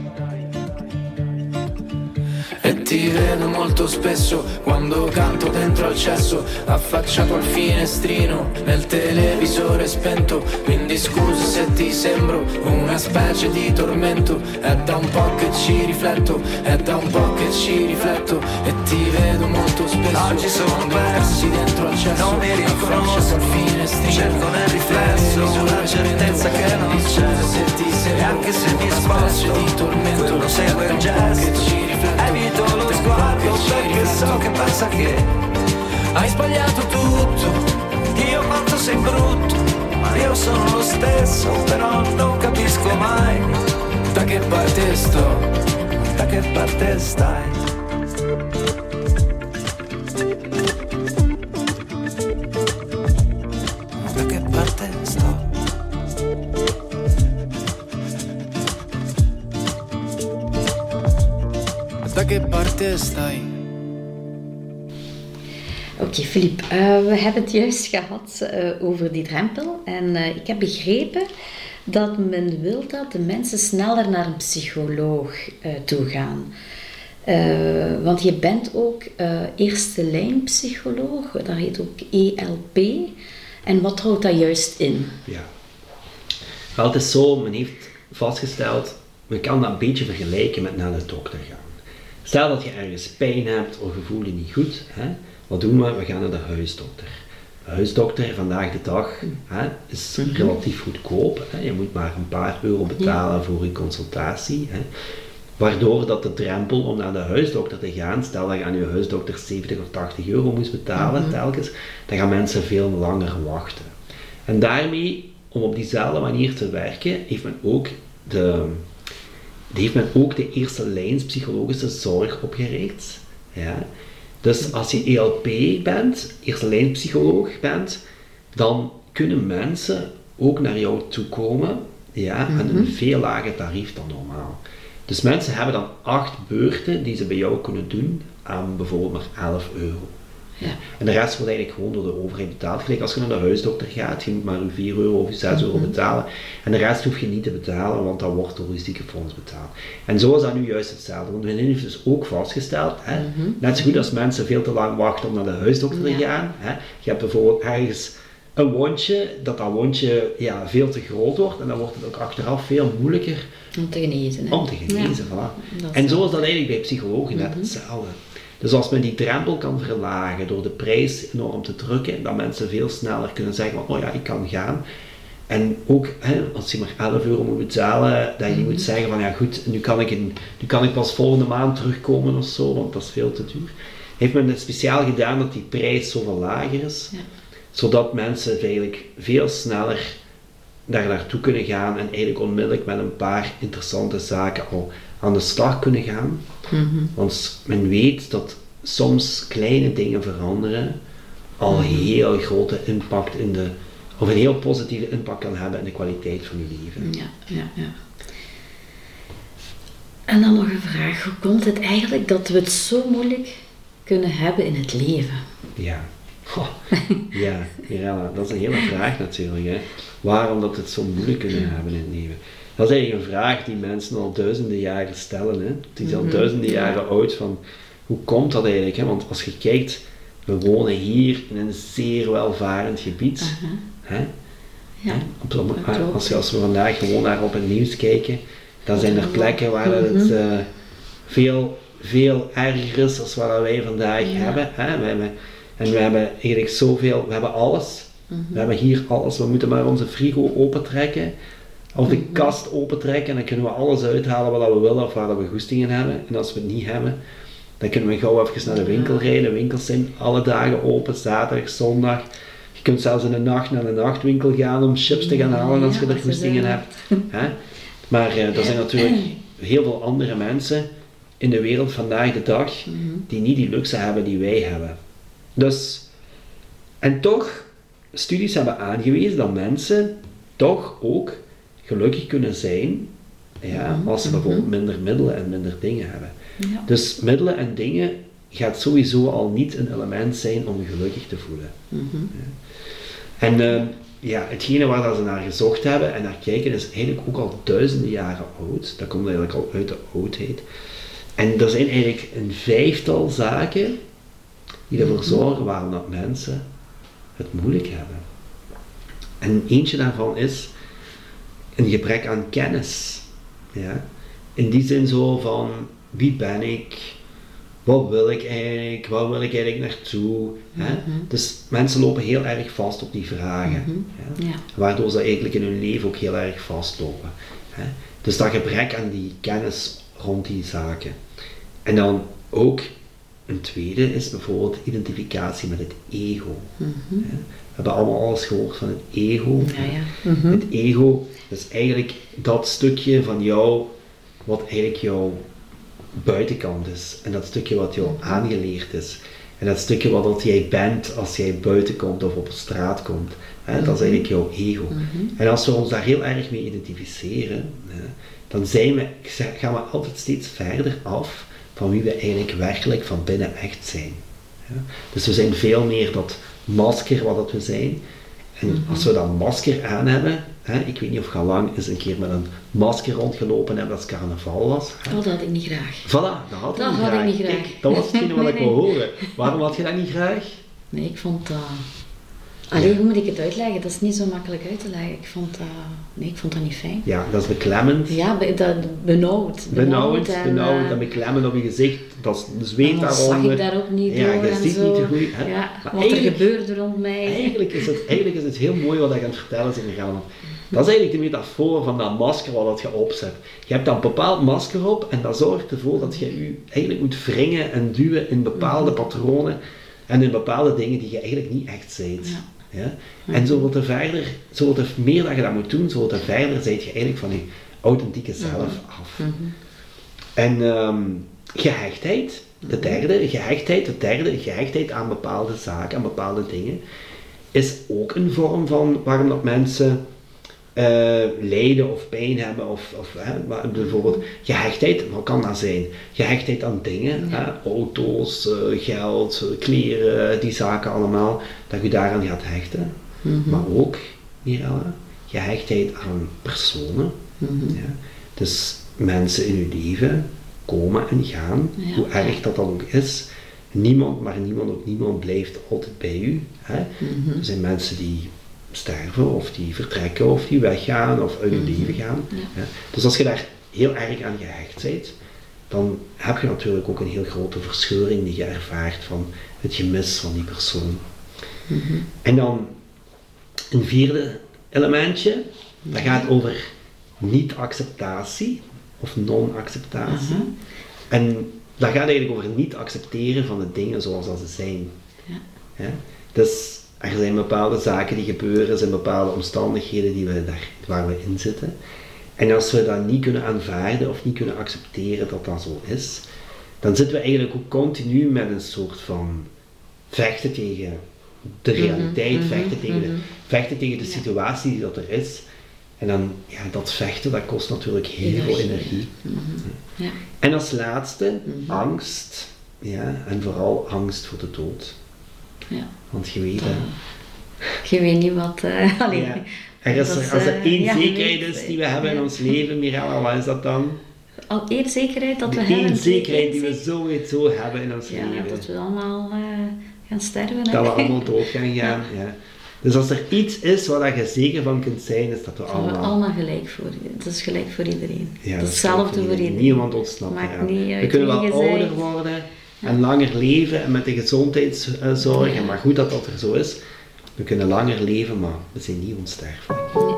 E ti vedo molto spesso quando canto dentro al cesso, affacciato al finestrino nel televisore spento. Quindi scusa se ti sembro una specie di tormento, è da un po' che ci rifletto, è da un po' che ci rifletto. E ti vedo molto spesso oggi sono persi dentro al cesso, non mi riconosco, al finestrino, cerco nel riflesso una certezza che non c'è. E anche se mi sposto, quello segue il gesto, evito lo sguardo perché so che pensa che hai sbagliato tutto. Dio quanto sei brutto, ma io sono lo stesso, però non capisco mai da che parte sto, da che parte stai. Da che parte sto. Da che parte stai? Oké, okay, Filip, uh, we hebben het juist gehad uh, over die drempel. En uh, ik heb begrepen dat men wil dat de mensen sneller naar een psycholoog uh, toe gaan. Uh, want je bent ook uh, eerste lijn psycholoog, dat heet ook E L P. En wat houdt dat juist in? Ja, wel, het is zo, men heeft vastgesteld, we kan dat een beetje vergelijken met naar de dokter gaan. Stel dat je ergens pijn hebt of je voelt je niet goed, hè? Wat doen we? We gaan naar de huisdokter. De huisdokter vandaag de dag hè, is mm-hmm. relatief goedkoop. Hè? Je moet maar een paar euro betalen ja. voor je consultatie. Hè? Waardoor dat de drempel om naar de huisdokter te gaan, stel dat je aan je huisdokter zeventig of tachtig euro moest betalen mm-hmm. telkens, dan gaan mensen veel langer wachten. En daarmee, om op diezelfde manier te werken, heeft men ook de, heeft men ook de eerste lijns psychologische zorg opgericht. Ja. Dus als je E L P bent, eerste lijn psycholoog bent, dan kunnen mensen ook naar jou toe komen, ja, aan een veel lager tarief dan normaal. Dus mensen hebben dan acht beurten die ze bij jou kunnen doen aan bijvoorbeeld maar elf euro. Ja. En de rest wordt eigenlijk gewoon door de overheid betaald. Gelijk als je naar de huisdokter gaat, je moet maar je vier euro of je zes euro betalen. En de rest hoef je niet te betalen, want dat wordt door je ziekenfonds betaald. En zo is dat nu juist hetzelfde. Want men heeft dus ook vastgesteld, hè, mm-hmm. net zo goed als mensen veel te lang wachten om naar de huisdokter ja. te gaan. Hè. Je hebt bijvoorbeeld ergens een wondje, dat dat wondje ja, veel te groot wordt en dan wordt het ook achteraf veel moeilijker om te genezen. Hè? Om te genezen, ja. Voilà. En zo is dat eigenlijk bij psychologen net mm-hmm. hetzelfde. Dus als men die drempel kan verlagen door de prijs enorm te drukken, dat mensen veel sneller kunnen zeggen van, oh ja, ik kan gaan. En ook, hè, als je maar elf euro moet betalen, dat je mm-hmm. moet zeggen van, ja goed, nu kan, ik in, nu kan ik pas volgende maand terugkomen of zo, want dat is veel te duur. Heeft men het speciaal gedaan dat die prijs zoveel lager is, ja. zodat mensen eigenlijk veel sneller daar naartoe kunnen gaan en eigenlijk onmiddellijk met een paar interessante zaken al aan de slag kunnen gaan. Mm-hmm. Want men weet dat soms kleine dingen veranderen al een heel grote impact in de, of een heel positieve impact kan hebben in de kwaliteit van je leven. Ja, ja, ja. En dan nog een vraag, hoe komt het eigenlijk dat we het zo moeilijk kunnen hebben in het leven? Ja. Oh, ja, Mirella, dat is een hele vraag natuurlijk. Hè. Waarom dat we het zo moeilijk kunnen hebben in het leven? Dat is eigenlijk een vraag die mensen al duizenden jaren stellen. Hè. Het is al mm-hmm. duizenden jaren oud van, hoe komt dat eigenlijk? Hè? Want als je kijkt, we wonen hier in een zeer welvarend gebied. Uh-huh. Hè? Ja, op, als, je, als we vandaag gewoon naar op het nieuws kijken, dan zijn er plekken waar mm-hmm. het uh, veel, veel erger is dan wat wij vandaag ja. hebben. Hè? We hebben. En we hebben eigenlijk zoveel, we hebben alles. Mm-hmm. We hebben hier alles. We moeten maar onze frigo opentrekken. Of de mm-hmm. kast opentrekken. En dan kunnen we alles uithalen wat we willen of waar we goestingen hebben. En als we het niet hebben, dan kunnen we gauw even naar de winkel rijden. Winkels zijn alle dagen open, zaterdag, zondag. Je kunt zelfs in de nacht naar de nachtwinkel gaan om chips te gaan halen als je er goestingen hebt. Hè? Maar uh, er zijn natuurlijk heel veel andere mensen in de wereld vandaag de dag die niet die luxe hebben die wij hebben. Dus, en toch, studies hebben aangewezen dat mensen toch ook gelukkig kunnen zijn, ja, als ze bijvoorbeeld minder middelen en minder dingen hebben. Ja. Dus middelen en dingen gaat sowieso al niet een element zijn om je gelukkig te voelen. Mm-hmm. Ja. En uh, ja, hetgene waar dat ze naar gezocht hebben en naar kijken is eigenlijk ook al duizenden jaren oud. Dat komt eigenlijk al uit de oudheid. En er zijn eigenlijk een vijftal zaken die ervoor zorgen waarom dat mensen het moeilijk hebben. En eentje daarvan is een gebrek aan kennis. Ja? In die zin zo van, wie ben ik? Wat wil ik eigenlijk? Waar wil ik eigenlijk naartoe? Mm-hmm. Hè? Dus mensen lopen heel erg vast op die vragen. Mm-hmm. Ja? Ja. Waardoor ze eigenlijk in hun leven ook heel erg vastlopen. Hè? Dus dat gebrek aan die kennis rond die zaken. En dan ook een tweede is bijvoorbeeld identificatie met het ego. Mm-hmm. Ja? We hebben allemaal alles gehoord van het ego. Ja, ja. Mm-hmm. Het ego is eigenlijk dat stukje van jou wat eigenlijk jouw buitenkant is. En dat stukje wat jou aangeleerd is. En dat stukje wat jij bent als jij buiten komt of op de straat komt. Hè? Mm-hmm. Dat is eigenlijk jouw ego. Mm-hmm. En als we ons daar heel erg mee identificeren, hè, dan zijn we, gaan we altijd steeds verder af van wie we eigenlijk werkelijk van binnen echt zijn. Ja? Dus we zijn veel meer dat masker wat dat we zijn. En mm-hmm. als we dat masker aan hebben, hè, ik weet niet of je al lang eens een keer met een masker rondgelopen hebt als carnaval was. Hè? Oh, dat had ik niet graag. Voilà, dat had, dat ik, niet had graag. ik niet graag. Kijk, dat was hetgene wat nee, ik nee. wil horen. Waarom had je dat niet graag? Nee, ik vond dat... Alleen, hoe moet ik het uitleggen? Dat is niet zo makkelijk uit te leggen. Ik vond dat... Nee, ik vond dat niet fijn. Ja, dat is beklemmend. Ja, be, dat, benauwd. Benauwd, en, benauwd uh, en beklemmend op je gezicht. Dat is zweet daaronder. zag ik daar ook niet ja, door je en ziet zo. niet te goed. Ja, wat er gebeurde rond mij. Eigenlijk is, het, eigenlijk is het heel mooi wat je aan het vertellen is in Ghana. Dat is eigenlijk de metafoor van dat masker wat je opzet. Je hebt dan een bepaald masker op en dat zorgt ervoor dat je je eigenlijk moet wringen en duwen in bepaalde patronen en in bepaalde dingen die je eigenlijk niet echt bent. Ja. Ja? En zo wordt er verder, zo wordt er meer dat je dat moet doen, zo wordt er verder zijt je eigenlijk van je authentieke zelf af. Mm-hmm. En um, gehechtheid, de derde, gehechtheid, de derde, gehechtheid aan bepaalde zaken, aan bepaalde dingen, is ook een vorm van waarom dat mensen uh, lijden of pijn hebben, of, of hè, bijvoorbeeld gehechtheid, wat kan dat zijn? Gehechtheid aan dingen, ja. hè, auto's, uh, geld, kleren, die zaken allemaal, dat je daaraan gaat hechten. Mm-hmm. Maar ook, Mirella, gehechtheid aan personen. Mm-hmm. Ja. Dus mensen in je leven komen en gaan, ja. hoe erg dat dan ook is. Niemand, maar niemand ook niemand blijft altijd bij u. Hè? Mm-hmm. Er zijn mensen die sterven, of die vertrekken, of die weggaan, of uit je mm-hmm. leven gaan. Ja. Ja? Dus als je daar heel erg aan gehecht bent, dan heb je natuurlijk ook een heel grote verscheuring die je ervaart van het gemis van die persoon. Mm-hmm. En dan een vierde elementje, dat gaat over niet-acceptatie, of non-acceptatie. Uh-huh. En dat gaat eigenlijk over niet accepteren van de dingen zoals dat ze zijn. Ja. Ja? Dus er zijn bepaalde zaken die gebeuren, er zijn bepaalde omstandigheden die we daar, waar we in zitten. En als we dat niet kunnen aanvaarden of niet kunnen accepteren dat dat zo is, dan zitten we eigenlijk ook continu met een soort van vechten tegen de realiteit, mm-hmm. vechten, tegen mm-hmm. de, vechten tegen de situatie die dat er is. En dan, ja, dat vechten, dat kost natuurlijk heel energie. veel energie. Mm-hmm. Ja. En als laatste, mm-hmm. angst. Ja, en vooral angst voor de dood. Ja. Want je weet... Uh, je weet niet wat... Uh, alleen, ja. er is, als er uh, één ja, zekerheid is die we hebben ja. in ons leven, Mirella, wat is dat dan? Al één zekerheid dat we de hebben. Eén zekerheid die we sowieso hebben in ons ja, leven. Dat we allemaal uh, gaan sterven. Dat hè? we allemaal dood gaan gaan, ja. ja. Dus als er iets is waar je zeker van kunt zijn, is dat we allemaal... Dat we allemaal gelijk voor Dat is gelijk voor iedereen. Ja, dat is hetzelfde voor iedereen. Niemand ontsnapt eraan. We kunnen wel ouder worden ja. en langer leven en met de gezondheidszorg. Ja. Maar goed dat dat er zo is. We kunnen langer leven, maar we zijn niet onsterfelijk. Ja.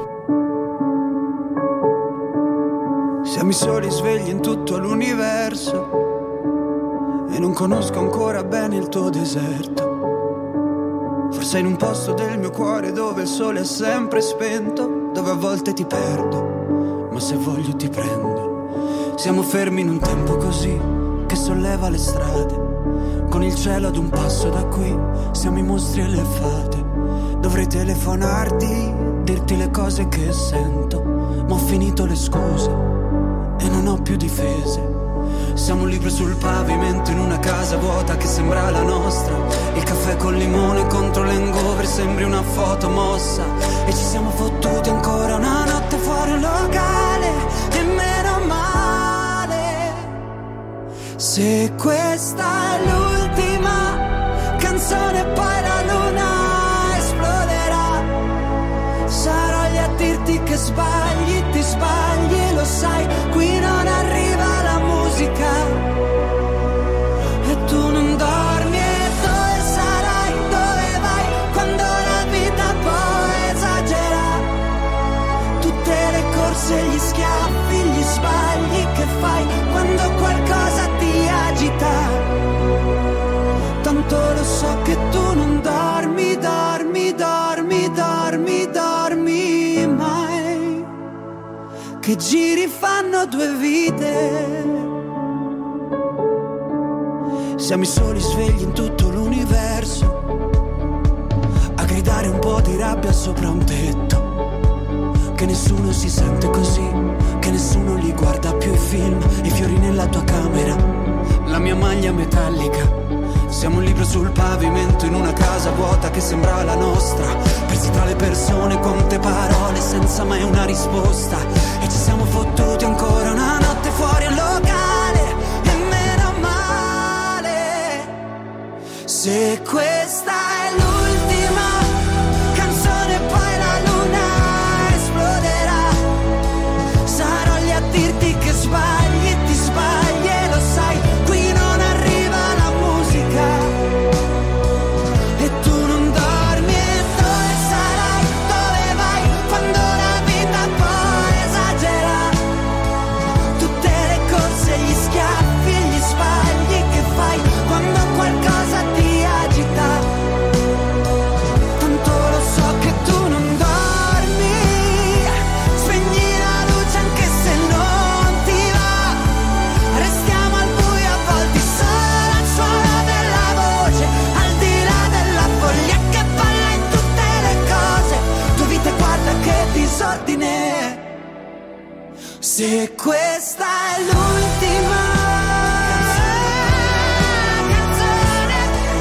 Siamo i soli svegli in tutto l'universo e non conosco ancora bene il tuo deserto. Forse in un posto del mio cuore dove il sole è sempre spento, dove a volte ti perdo, ma se voglio ti prendo. Siamo fermi in un tempo così che solleva le strade, con il cielo ad un passo da qui, siamo i mostri e le fate. Dovrei telefonarti, dirti le cose che sento, ma ho finito le scuse e non ho più difese. Siamo un libro sul pavimento in una casa vuota che sembra la nostra. Il caffè col limone contro l'hangover sembri una foto mossa. E ci siamo fottuti ancora una notte fuori un locale, e meno male. Se questa è l'ultima canzone poi la luna esploderà. Sarò lì a dirti che sbagli, ti sbagli e lo sai. Qui non arriva la musica e tu non dormi. E dove sarai, dove vai quando la vita poi esagera? Tutte le corse, gli schiaffi, gli sbagli che fai quando qualcosa ti agita. Tanto lo so che tu non dormi, dormi, dormi, dormi, dormi mai. Che giri fanno due vite. Siamo i soli svegli in tutto l'universo, a gridare un po' di rabbia sopra un tetto. Che nessuno si sente così, che nessuno li guarda più i film. I fiori nella tua camera, la mia maglia metallica. Siamo un libro sul pavimento in una casa vuota che sembra la nostra. Persi tra le persone, quante parole senza mai una risposta. E ci siamo fottuti ancora una notte fuori al locale, e meno male. Se questa è l'ultima canzone poi la luna esploderà. Sarò lì a dirti che sbagli, ti sbagli e lo sai. Qui non arriva la musica e tu non dormi. E dove sarai, dove vai quando la vita questa è l'ultima canzone.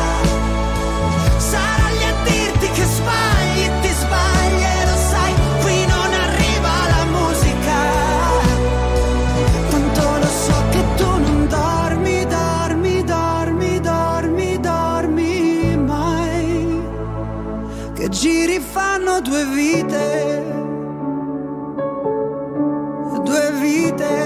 Sarò lì a dirti che sbagli, ti sbagli e lo sai, qui non arriva la musica. Tanto lo so che tu non dormi, dormi, dormi, dormi, dormi mai. Che giri fanno due vite, due vite.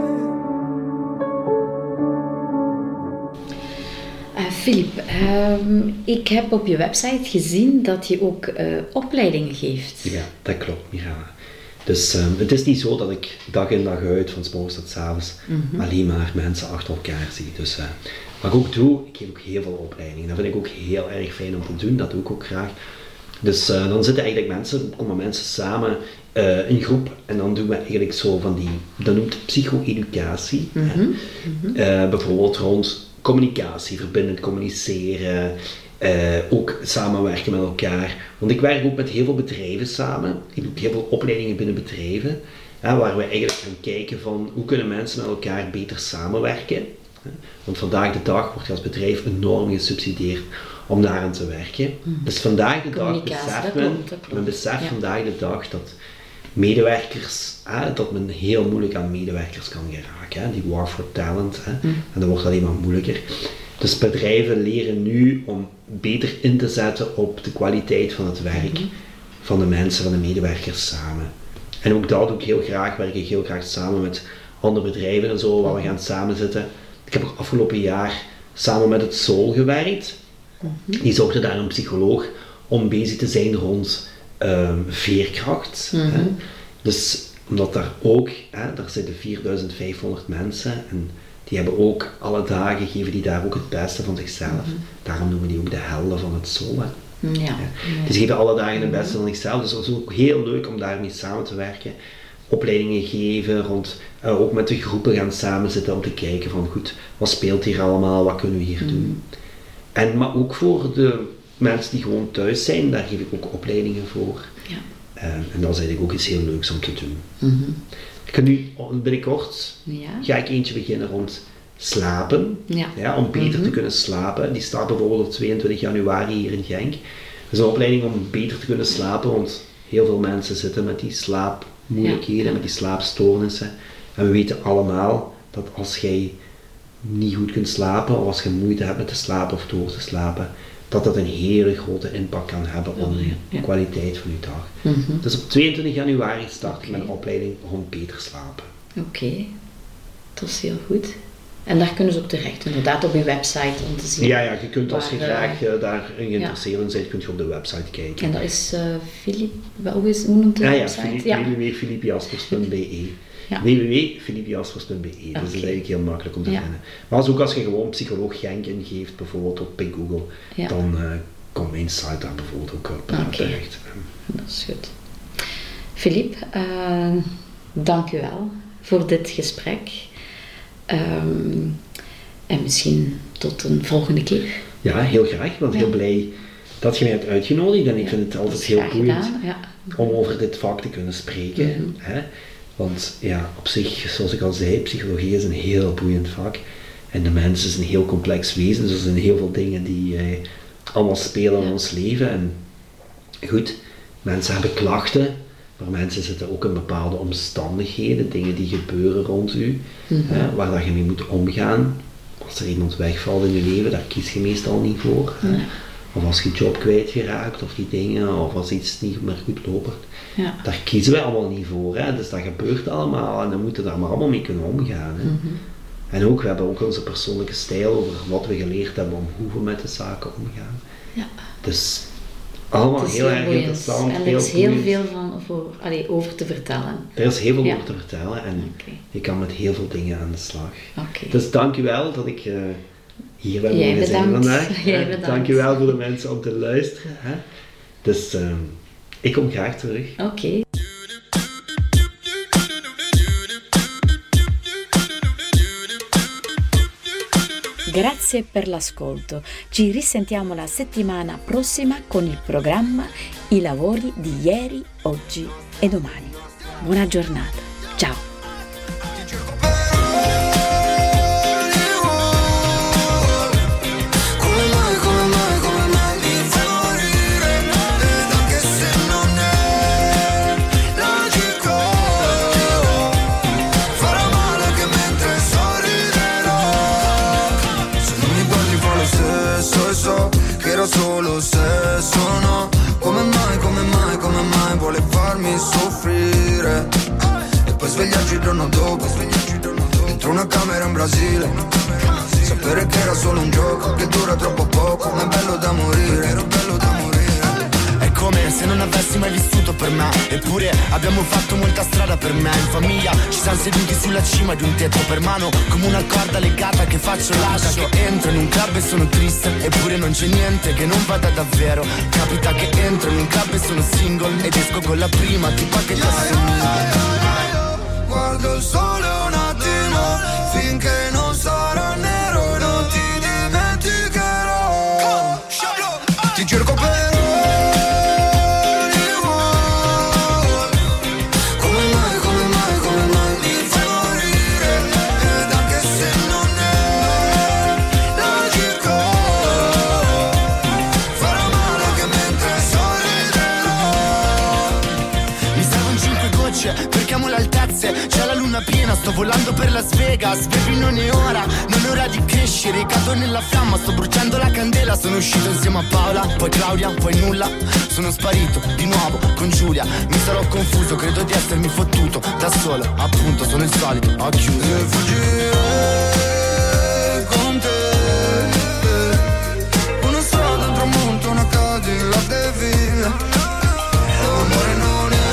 Uh, Filip, uh, ik heb op je website gezien dat je ook uh, opleidingen geeft. Ja, dat klopt, Mirella. Dus um, het is niet zo dat ik dag in dag uit, van 's morgens tot 's avonds, mm-hmm. alleen maar mensen achter elkaar zie. Dus uh, wat ik ook doe, ik geef ook heel veel opleidingen. Dat vind ik ook heel erg fijn om te doen, dat doe ik ook graag. Dus uh, dan zitten eigenlijk mensen, komen mensen samen uh, in groep en dan doen we eigenlijk zo van die, dat noemt psycho-educatie. Mm-hmm. Mm-hmm. Uh, bijvoorbeeld rond communicatie, verbindend communiceren, uh, ook samenwerken met elkaar. Want ik werk ook met heel veel bedrijven samen. Ik doe heel veel opleidingen binnen bedrijven, hè, waar we eigenlijk gaan kijken van hoe kunnen mensen met elkaar beter samenwerken. Hè? Want vandaag de dag wordt je als bedrijf enorm gesubsidieerd om daaraan te werken. Mm. Dus vandaag de dag beseft men, men beseft ja. vandaag de dag dat medewerkers, hè, dat men heel moeilijk aan medewerkers kan geraken. Hè. Die war for talent. Hè. Mm. En dat wordt alleen maar moeilijker. Dus bedrijven leren nu om beter in te zetten op de kwaliteit van het werk mm-hmm. van de mensen, van de medewerkers samen. En ook dat doe ik heel graag, werk ik heel graag samen met andere bedrijven en zo, waar we gaan samenzitten. Ik heb ook afgelopen jaar samen met het Soul gewerkt. Mm-hmm. Die zochten daar een psycholoog om bezig te zijn rond um, veerkracht. Mm-hmm. Hè. Dus omdat daar ook, hè, daar zitten vierduizend vijfhonderd mensen en die hebben ook alle dagen, geven die daar ook het beste van zichzelf. Mm-hmm. Daarom noemen die ook de helden van het Soul. Hè. Ja. Ja. Dus die geven alle dagen het beste van zichzelf. Dus het is ook heel leuk om daarmee samen te werken. Opleidingen geven, rond, uh, ook met de groepen gaan samenzitten om te kijken van goed, wat speelt hier allemaal, wat kunnen we hier mm. doen. En, maar ook voor de mensen die gewoon thuis zijn, daar geef ik ook opleidingen voor. Ja. Uh, en dat is eigenlijk ook iets heel leuks om te doen. Mm-hmm. Ik ga nu binnenkort, ja. ga ik eentje beginnen rond slapen, ja. Ja, om beter mm-hmm. te kunnen slapen. Die staat bijvoorbeeld op tweeëntwintig januari hier in Genk. Dat is een opleiding om beter te kunnen slapen, want heel veel mensen zitten met die slaapmoeilijkheden, ja. met die slaapstoornissen. En we weten allemaal dat als jij niet goed kunt slapen, of als je moeite hebt met te slapen of door te slapen, dat dat een hele grote impact kan hebben op de ja. kwaliteit van je dag. Mm-hmm. Dus op tweeëntwintig januari start okay. ik met een opleiding rond beter slapen. Oké, okay. Dat is heel goed. En daar kunnen ze op terecht, inderdaad, op je website om te zien. Ja, ja, je kunt als je waar, graag uh, daarin geïnteresseerd ja. bent, kun je op de website kijken. En dat is uh, Filip, hoe is hoe noemt de ah, website? Ja, ja. w w w punt filip jaspers punt b e. Ja. w w w punt filip jaspers punt b e. Okay. Dus dat is eigenlijk heel makkelijk om te ja. vinden. Maar als ook als je gewoon psycholoog Genk ingeeft, bijvoorbeeld op Google, ja. dan uh, komt mijn site daar bijvoorbeeld ook op uh, okay. terecht. Dat is goed. Filip, uh, dank u wel voor dit gesprek. Um, en misschien tot een volgende keer. Ja, heel graag. Ik ben ja. heel blij dat je mij hebt uitgenodigd en ik ja, vind het altijd heel boeiend ja. om over dit vak te kunnen spreken. Mm-hmm. Hè? Want ja, op zich, zoals ik al zei, psychologie is een heel boeiend vak. En de mens is een heel complex wezen, dus er zijn heel veel dingen die eh, allemaal spelen in ja. ons leven. En goed, mensen hebben klachten, maar mensen zitten ook in bepaalde omstandigheden, dingen die gebeuren rond u, mm-hmm. hè, waar dat je mee moet omgaan. Als er iemand wegvalt in je leven, daar kies je meestal niet voor. Nee. Of als je job kwijtgeraakt of die dingen, of als iets niet meer goed loopt. Ja. Daar kiezen wij allemaal niet voor. Hè? Dus dat gebeurt allemaal en dan moeten we daar maar allemaal mee kunnen omgaan. Hè? Mm-hmm. En ook, we hebben ook onze persoonlijke stijl over wat we geleerd hebben om hoe we met de zaken omgaan. Ja. Dus allemaal heel, heel erg boeiend. Interessant. En er is heel boeiend. veel van voor, allee, over te vertellen. Er is heel veel ja. over te vertellen en okay. je kan met heel veel dingen aan de slag. Okay. Dus dank u wel dat ik uh, hier ben mogen zijn vandaag. Jij bedankt. Dank u wel voor de mensen om te luisteren. Hè? Dus uh, ik kom graag terug. Oké. Okay. Grazie per l'ascolto. Ci risentiamo la settimana prossima con il programma I lavori di ieri, oggi e domani. Buona giornata. Ciao. giorno dopo, dentro una camera in Brasile. Sapere che era solo un gioco, che dura troppo poco, ma è bello da morire, era bello da morire. È come se non avessi mai vissuto per me, eppure abbiamo fatto molta strada per me. In famiglia ci siamo seduti sulla cima di un tetto per mano, come una corda legata che faccio lascio. Che entro in un club e sono triste, eppure non c'è niente che non vada davvero. Capita che entro in un club e sono single ed esco con la prima tipa che ti assomiglia. Guardo il sole un attimo, finché non sarà nero e non ti dimenticherò. Ti cerco per c'è la luna piena, sto volando per Las Vegas. Baby non è ora, non è ora di crescere. Cado nella fiamma, sto bruciando la candela. Sono uscito insieme a Paola, poi Claudia, poi nulla. Sono sparito di nuovo con Giulia. Mi sarò confuso, credo di essermi fottuto da solo, appunto sono il solito, ho chiuso. E fuggire con te, una strada, un tramonto, una Cadillac e via. L'amore non è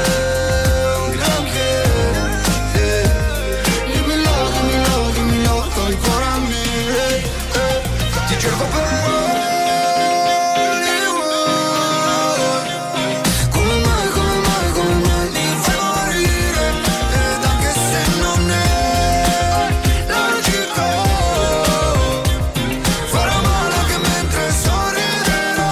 ancora a mille, eh, ti cerco per come mai, come mai, come mai mi fai morire, ed anche se non è logico, farò male anche mentre sorriderò.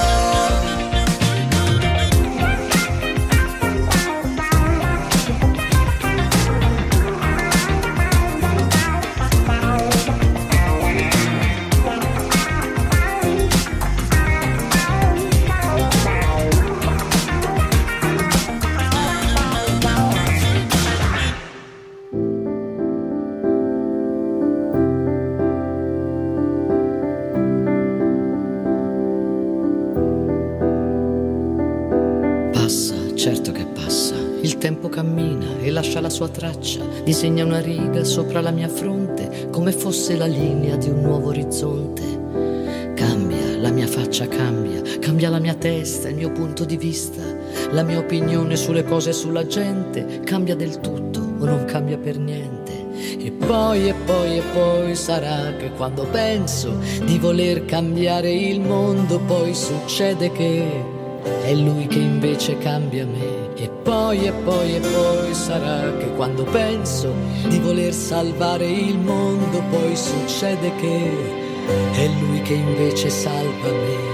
Certo che passa, il tempo cammina e lascia la sua traccia, disegna una riga sopra la mia fronte, come fosse la linea di un nuovo orizzonte. Cambia, la mia faccia cambia, cambia la mia testa, il mio punto di vista, la mia opinione sulle cose e sulla gente, cambia del tutto o non cambia per niente. E poi, e poi, e poi sarà che quando penso di voler cambiare il mondo, poi succede che è lui che invece cambia me. E poi, e poi, e poi sarà che quando penso di voler salvare il mondo, poi succede che è lui che invece salva me.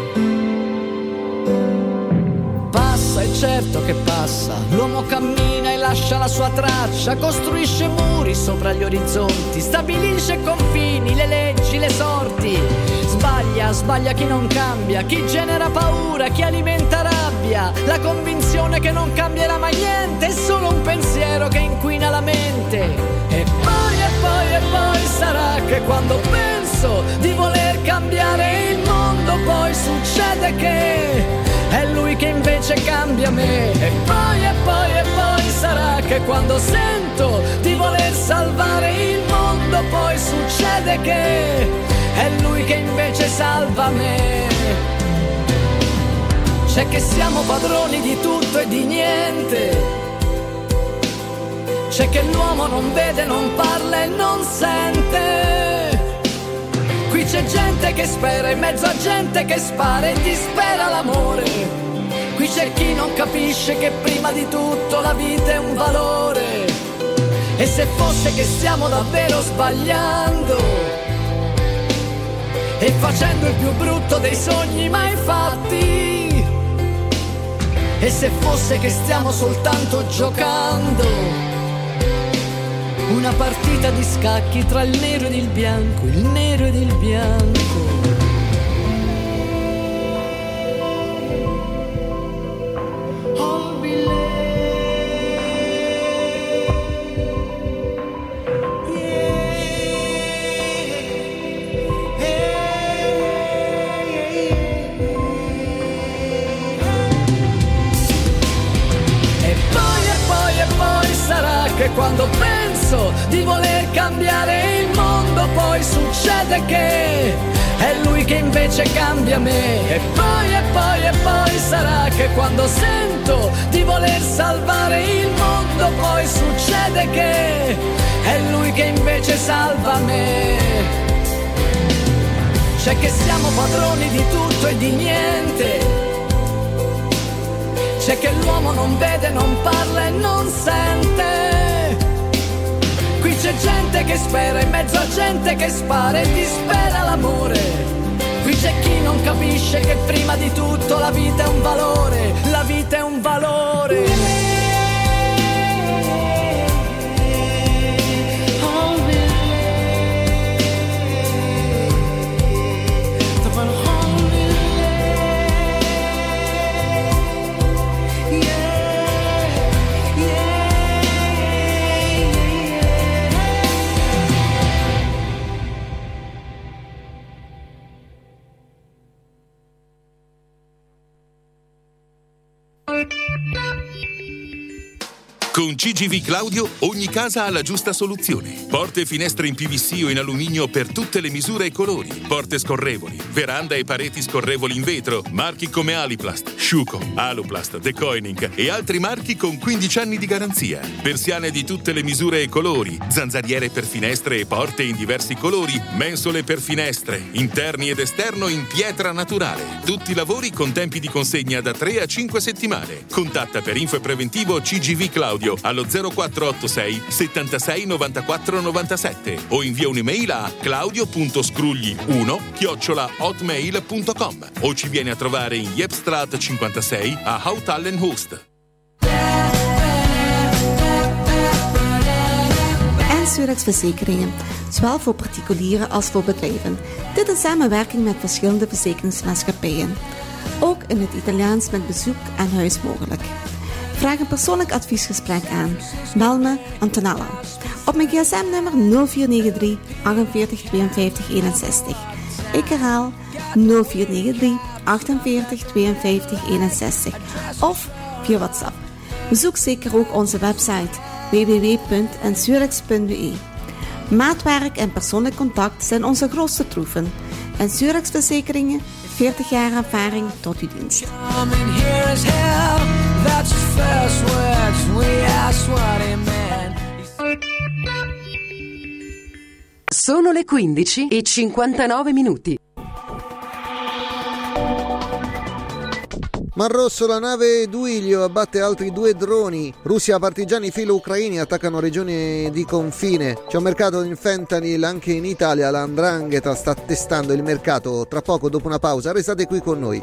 Passa, è certo che passa, l'uomo cammina e lascia la sua traccia, costruisce muri sopra gli orizzonti, stabilisce confini, le leggi, le sorti. Sbaglia, sbaglia chi non cambia, chi genera paura, chi alimenta rabbia, la convinzione che non cambierà mai niente, è solo un pensiero che inquina la mente. E poi, e poi, e poi sarà che quando penso di voler cambiare il mondo, poi succede che è lui che invece cambia me. E poi, e poi, e poi sarà che quando sento di voler salvare il mondo, poi succede che è lui che invece salva me. C'è che siamo padroni di tutto e di niente, c'è che l'uomo non vede, non parla e non sente. Qui c'è gente che spera in mezzo a gente che spara e dispera l'amore. Qui c'è chi non capisce che prima di tutto la vita è un valore. E se fosse che stiamo davvero sbagliando e facendo il più brutto dei sogni mai fatti, e se fosse che stiamo soltanto giocando una partita di scacchi tra il nero ed il bianco, il nero ed il bianco. Che quando cambiare il mondo, poi succede che è lui che invece cambia me. E poi, e poi, e poi sarà che quando sento di voler salvare il mondo, poi succede che è lui che invece salva me. C'è che siamo padroni di tutto e di niente, c'è che l'uomo non vede, non parla e non sente. Qui c'è gente che spera in mezzo a gente che spara e dispera l'amore. Qui c'è chi non capisce che prima di tutto la vita è un valore, la vita è un valore. Con C G V Claudio ogni casa ha la giusta soluzione. Porte e finestre in P V C o in alluminio per tutte le misure e colori. Porte scorrevoli, veranda e pareti scorrevoli in vetro. Marchi come Aliplast, Schuco, Aluplast, De Koning e altri marchi con quindici anni di garanzia. Persiane di tutte le misure e colori. Zanzariere per finestre e porte in diversi colori. Mensole per finestre, interni ed esterno in pietra naturale. Tutti i lavori con tempi di consegna da tre a cinque settimane. Contatta per info e preventivo C G V Claudio allo zero quattro otto sei settantasei novantaquattro novantasette o invia un'email a claudio punto scrugli uno chiocciola hotmail punto com o ci vieni a trovare in Jepstraat cinquantasei a Hout-Allen-Hulst. En Surex Verzekeringen, zowel voor particulieren als voor bedrijven. Dit in samenwerking met verschillende verzekeringsmaatschappijen. Ook in het Italiaans met bezoek aan huis mogelijk. Vraag een persoonlijk adviesgesprek aan. Bel me Antonella op mijn gsm-nummer nul vier negen drie achtenveertig tweeënvijftig eenenzestig. Ik herhaal nul vier negen drie achtenveertig tweeënvijftig eenenzestig of via WhatsApp. Bezoek zeker ook onze website w w w punt ensurex punt b e. Maatwerk en persoonlijk contact zijn onze grootste troeven. Ensurex Verzekeringen, veertig jaar ervaring tot uw dienst. Sono le quindici e cinquantanove minuti. Mar Rosso, la nave Duilio abbatte altri due droni. Russia, partigiani filo-ucraini attaccano regioni di confine. C'è un mercato in fentanyl anche in Italia. La 'ndrangheta sta testando il mercato. Tra poco, dopo una pausa, restate qui con noi.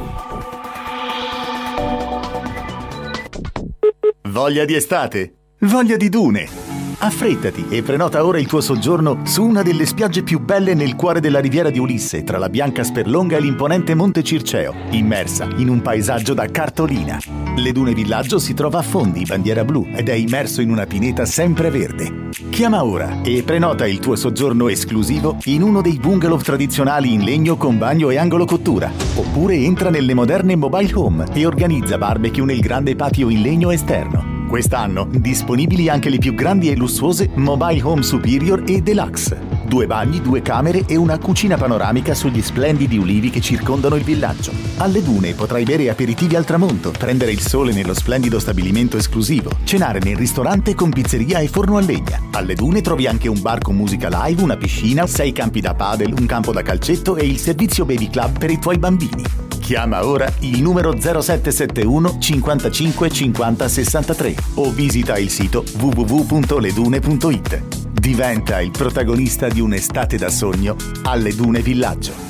Voglia di estate? Voglia di dune? Affrettati e prenota ora il tuo soggiorno su una delle spiagge più belle nel cuore della riviera di Ulisse, tra la bianca Sperlonga e l'imponente Monte Circeo, immersa in un paesaggio da cartolina. Le Dune Villaggio si trova a Fondi, bandiera blu, ed è immerso in una pineta sempreverde. Chiama ora e prenota il tuo soggiorno esclusivo in uno dei bungalow tradizionali in legno con bagno e angolo cottura. Oppure entra nelle moderne mobile home e organizza barbecue nel grande patio in legno esterno. Quest'anno disponibili anche le più grandi e lussuose Mobile Home Superior e Deluxe. Due bagni, due camere e una cucina panoramica sugli splendidi ulivi che circondano il villaggio. Alle Dune potrai bere aperitivi al tramonto, prendere il sole nello splendido stabilimento esclusivo, cenare nel ristorante con pizzeria e forno a legna. Alle Dune trovi anche un bar con musica live, una piscina, sei campi da padel, un campo da calcetto e il servizio Baby Club per i tuoi bambini. Chiama ora il numero zero sette sette uno cinquantacinque cinquanta sessantatré o visita il sito w w w punto ledune punto i t. Diventa il protagonista di un'estate da sogno alle Dune Villaggio.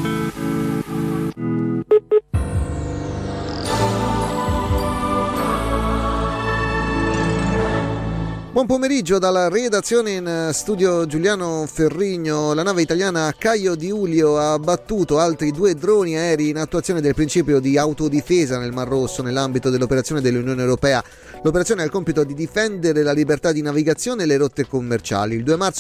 Buon pomeriggio dalla redazione in studio Giuliano Ferrigno. La nave italiana Caio di Ulio ha abbattuto altri due droni aerei in attuazione del principio di autodifesa nel Mar Rosso nell'ambito dell'operazione dell'Unione Europea. L'operazione ha il compito di difendere la libertà di navigazione e le rotte commerciali. Il due marzo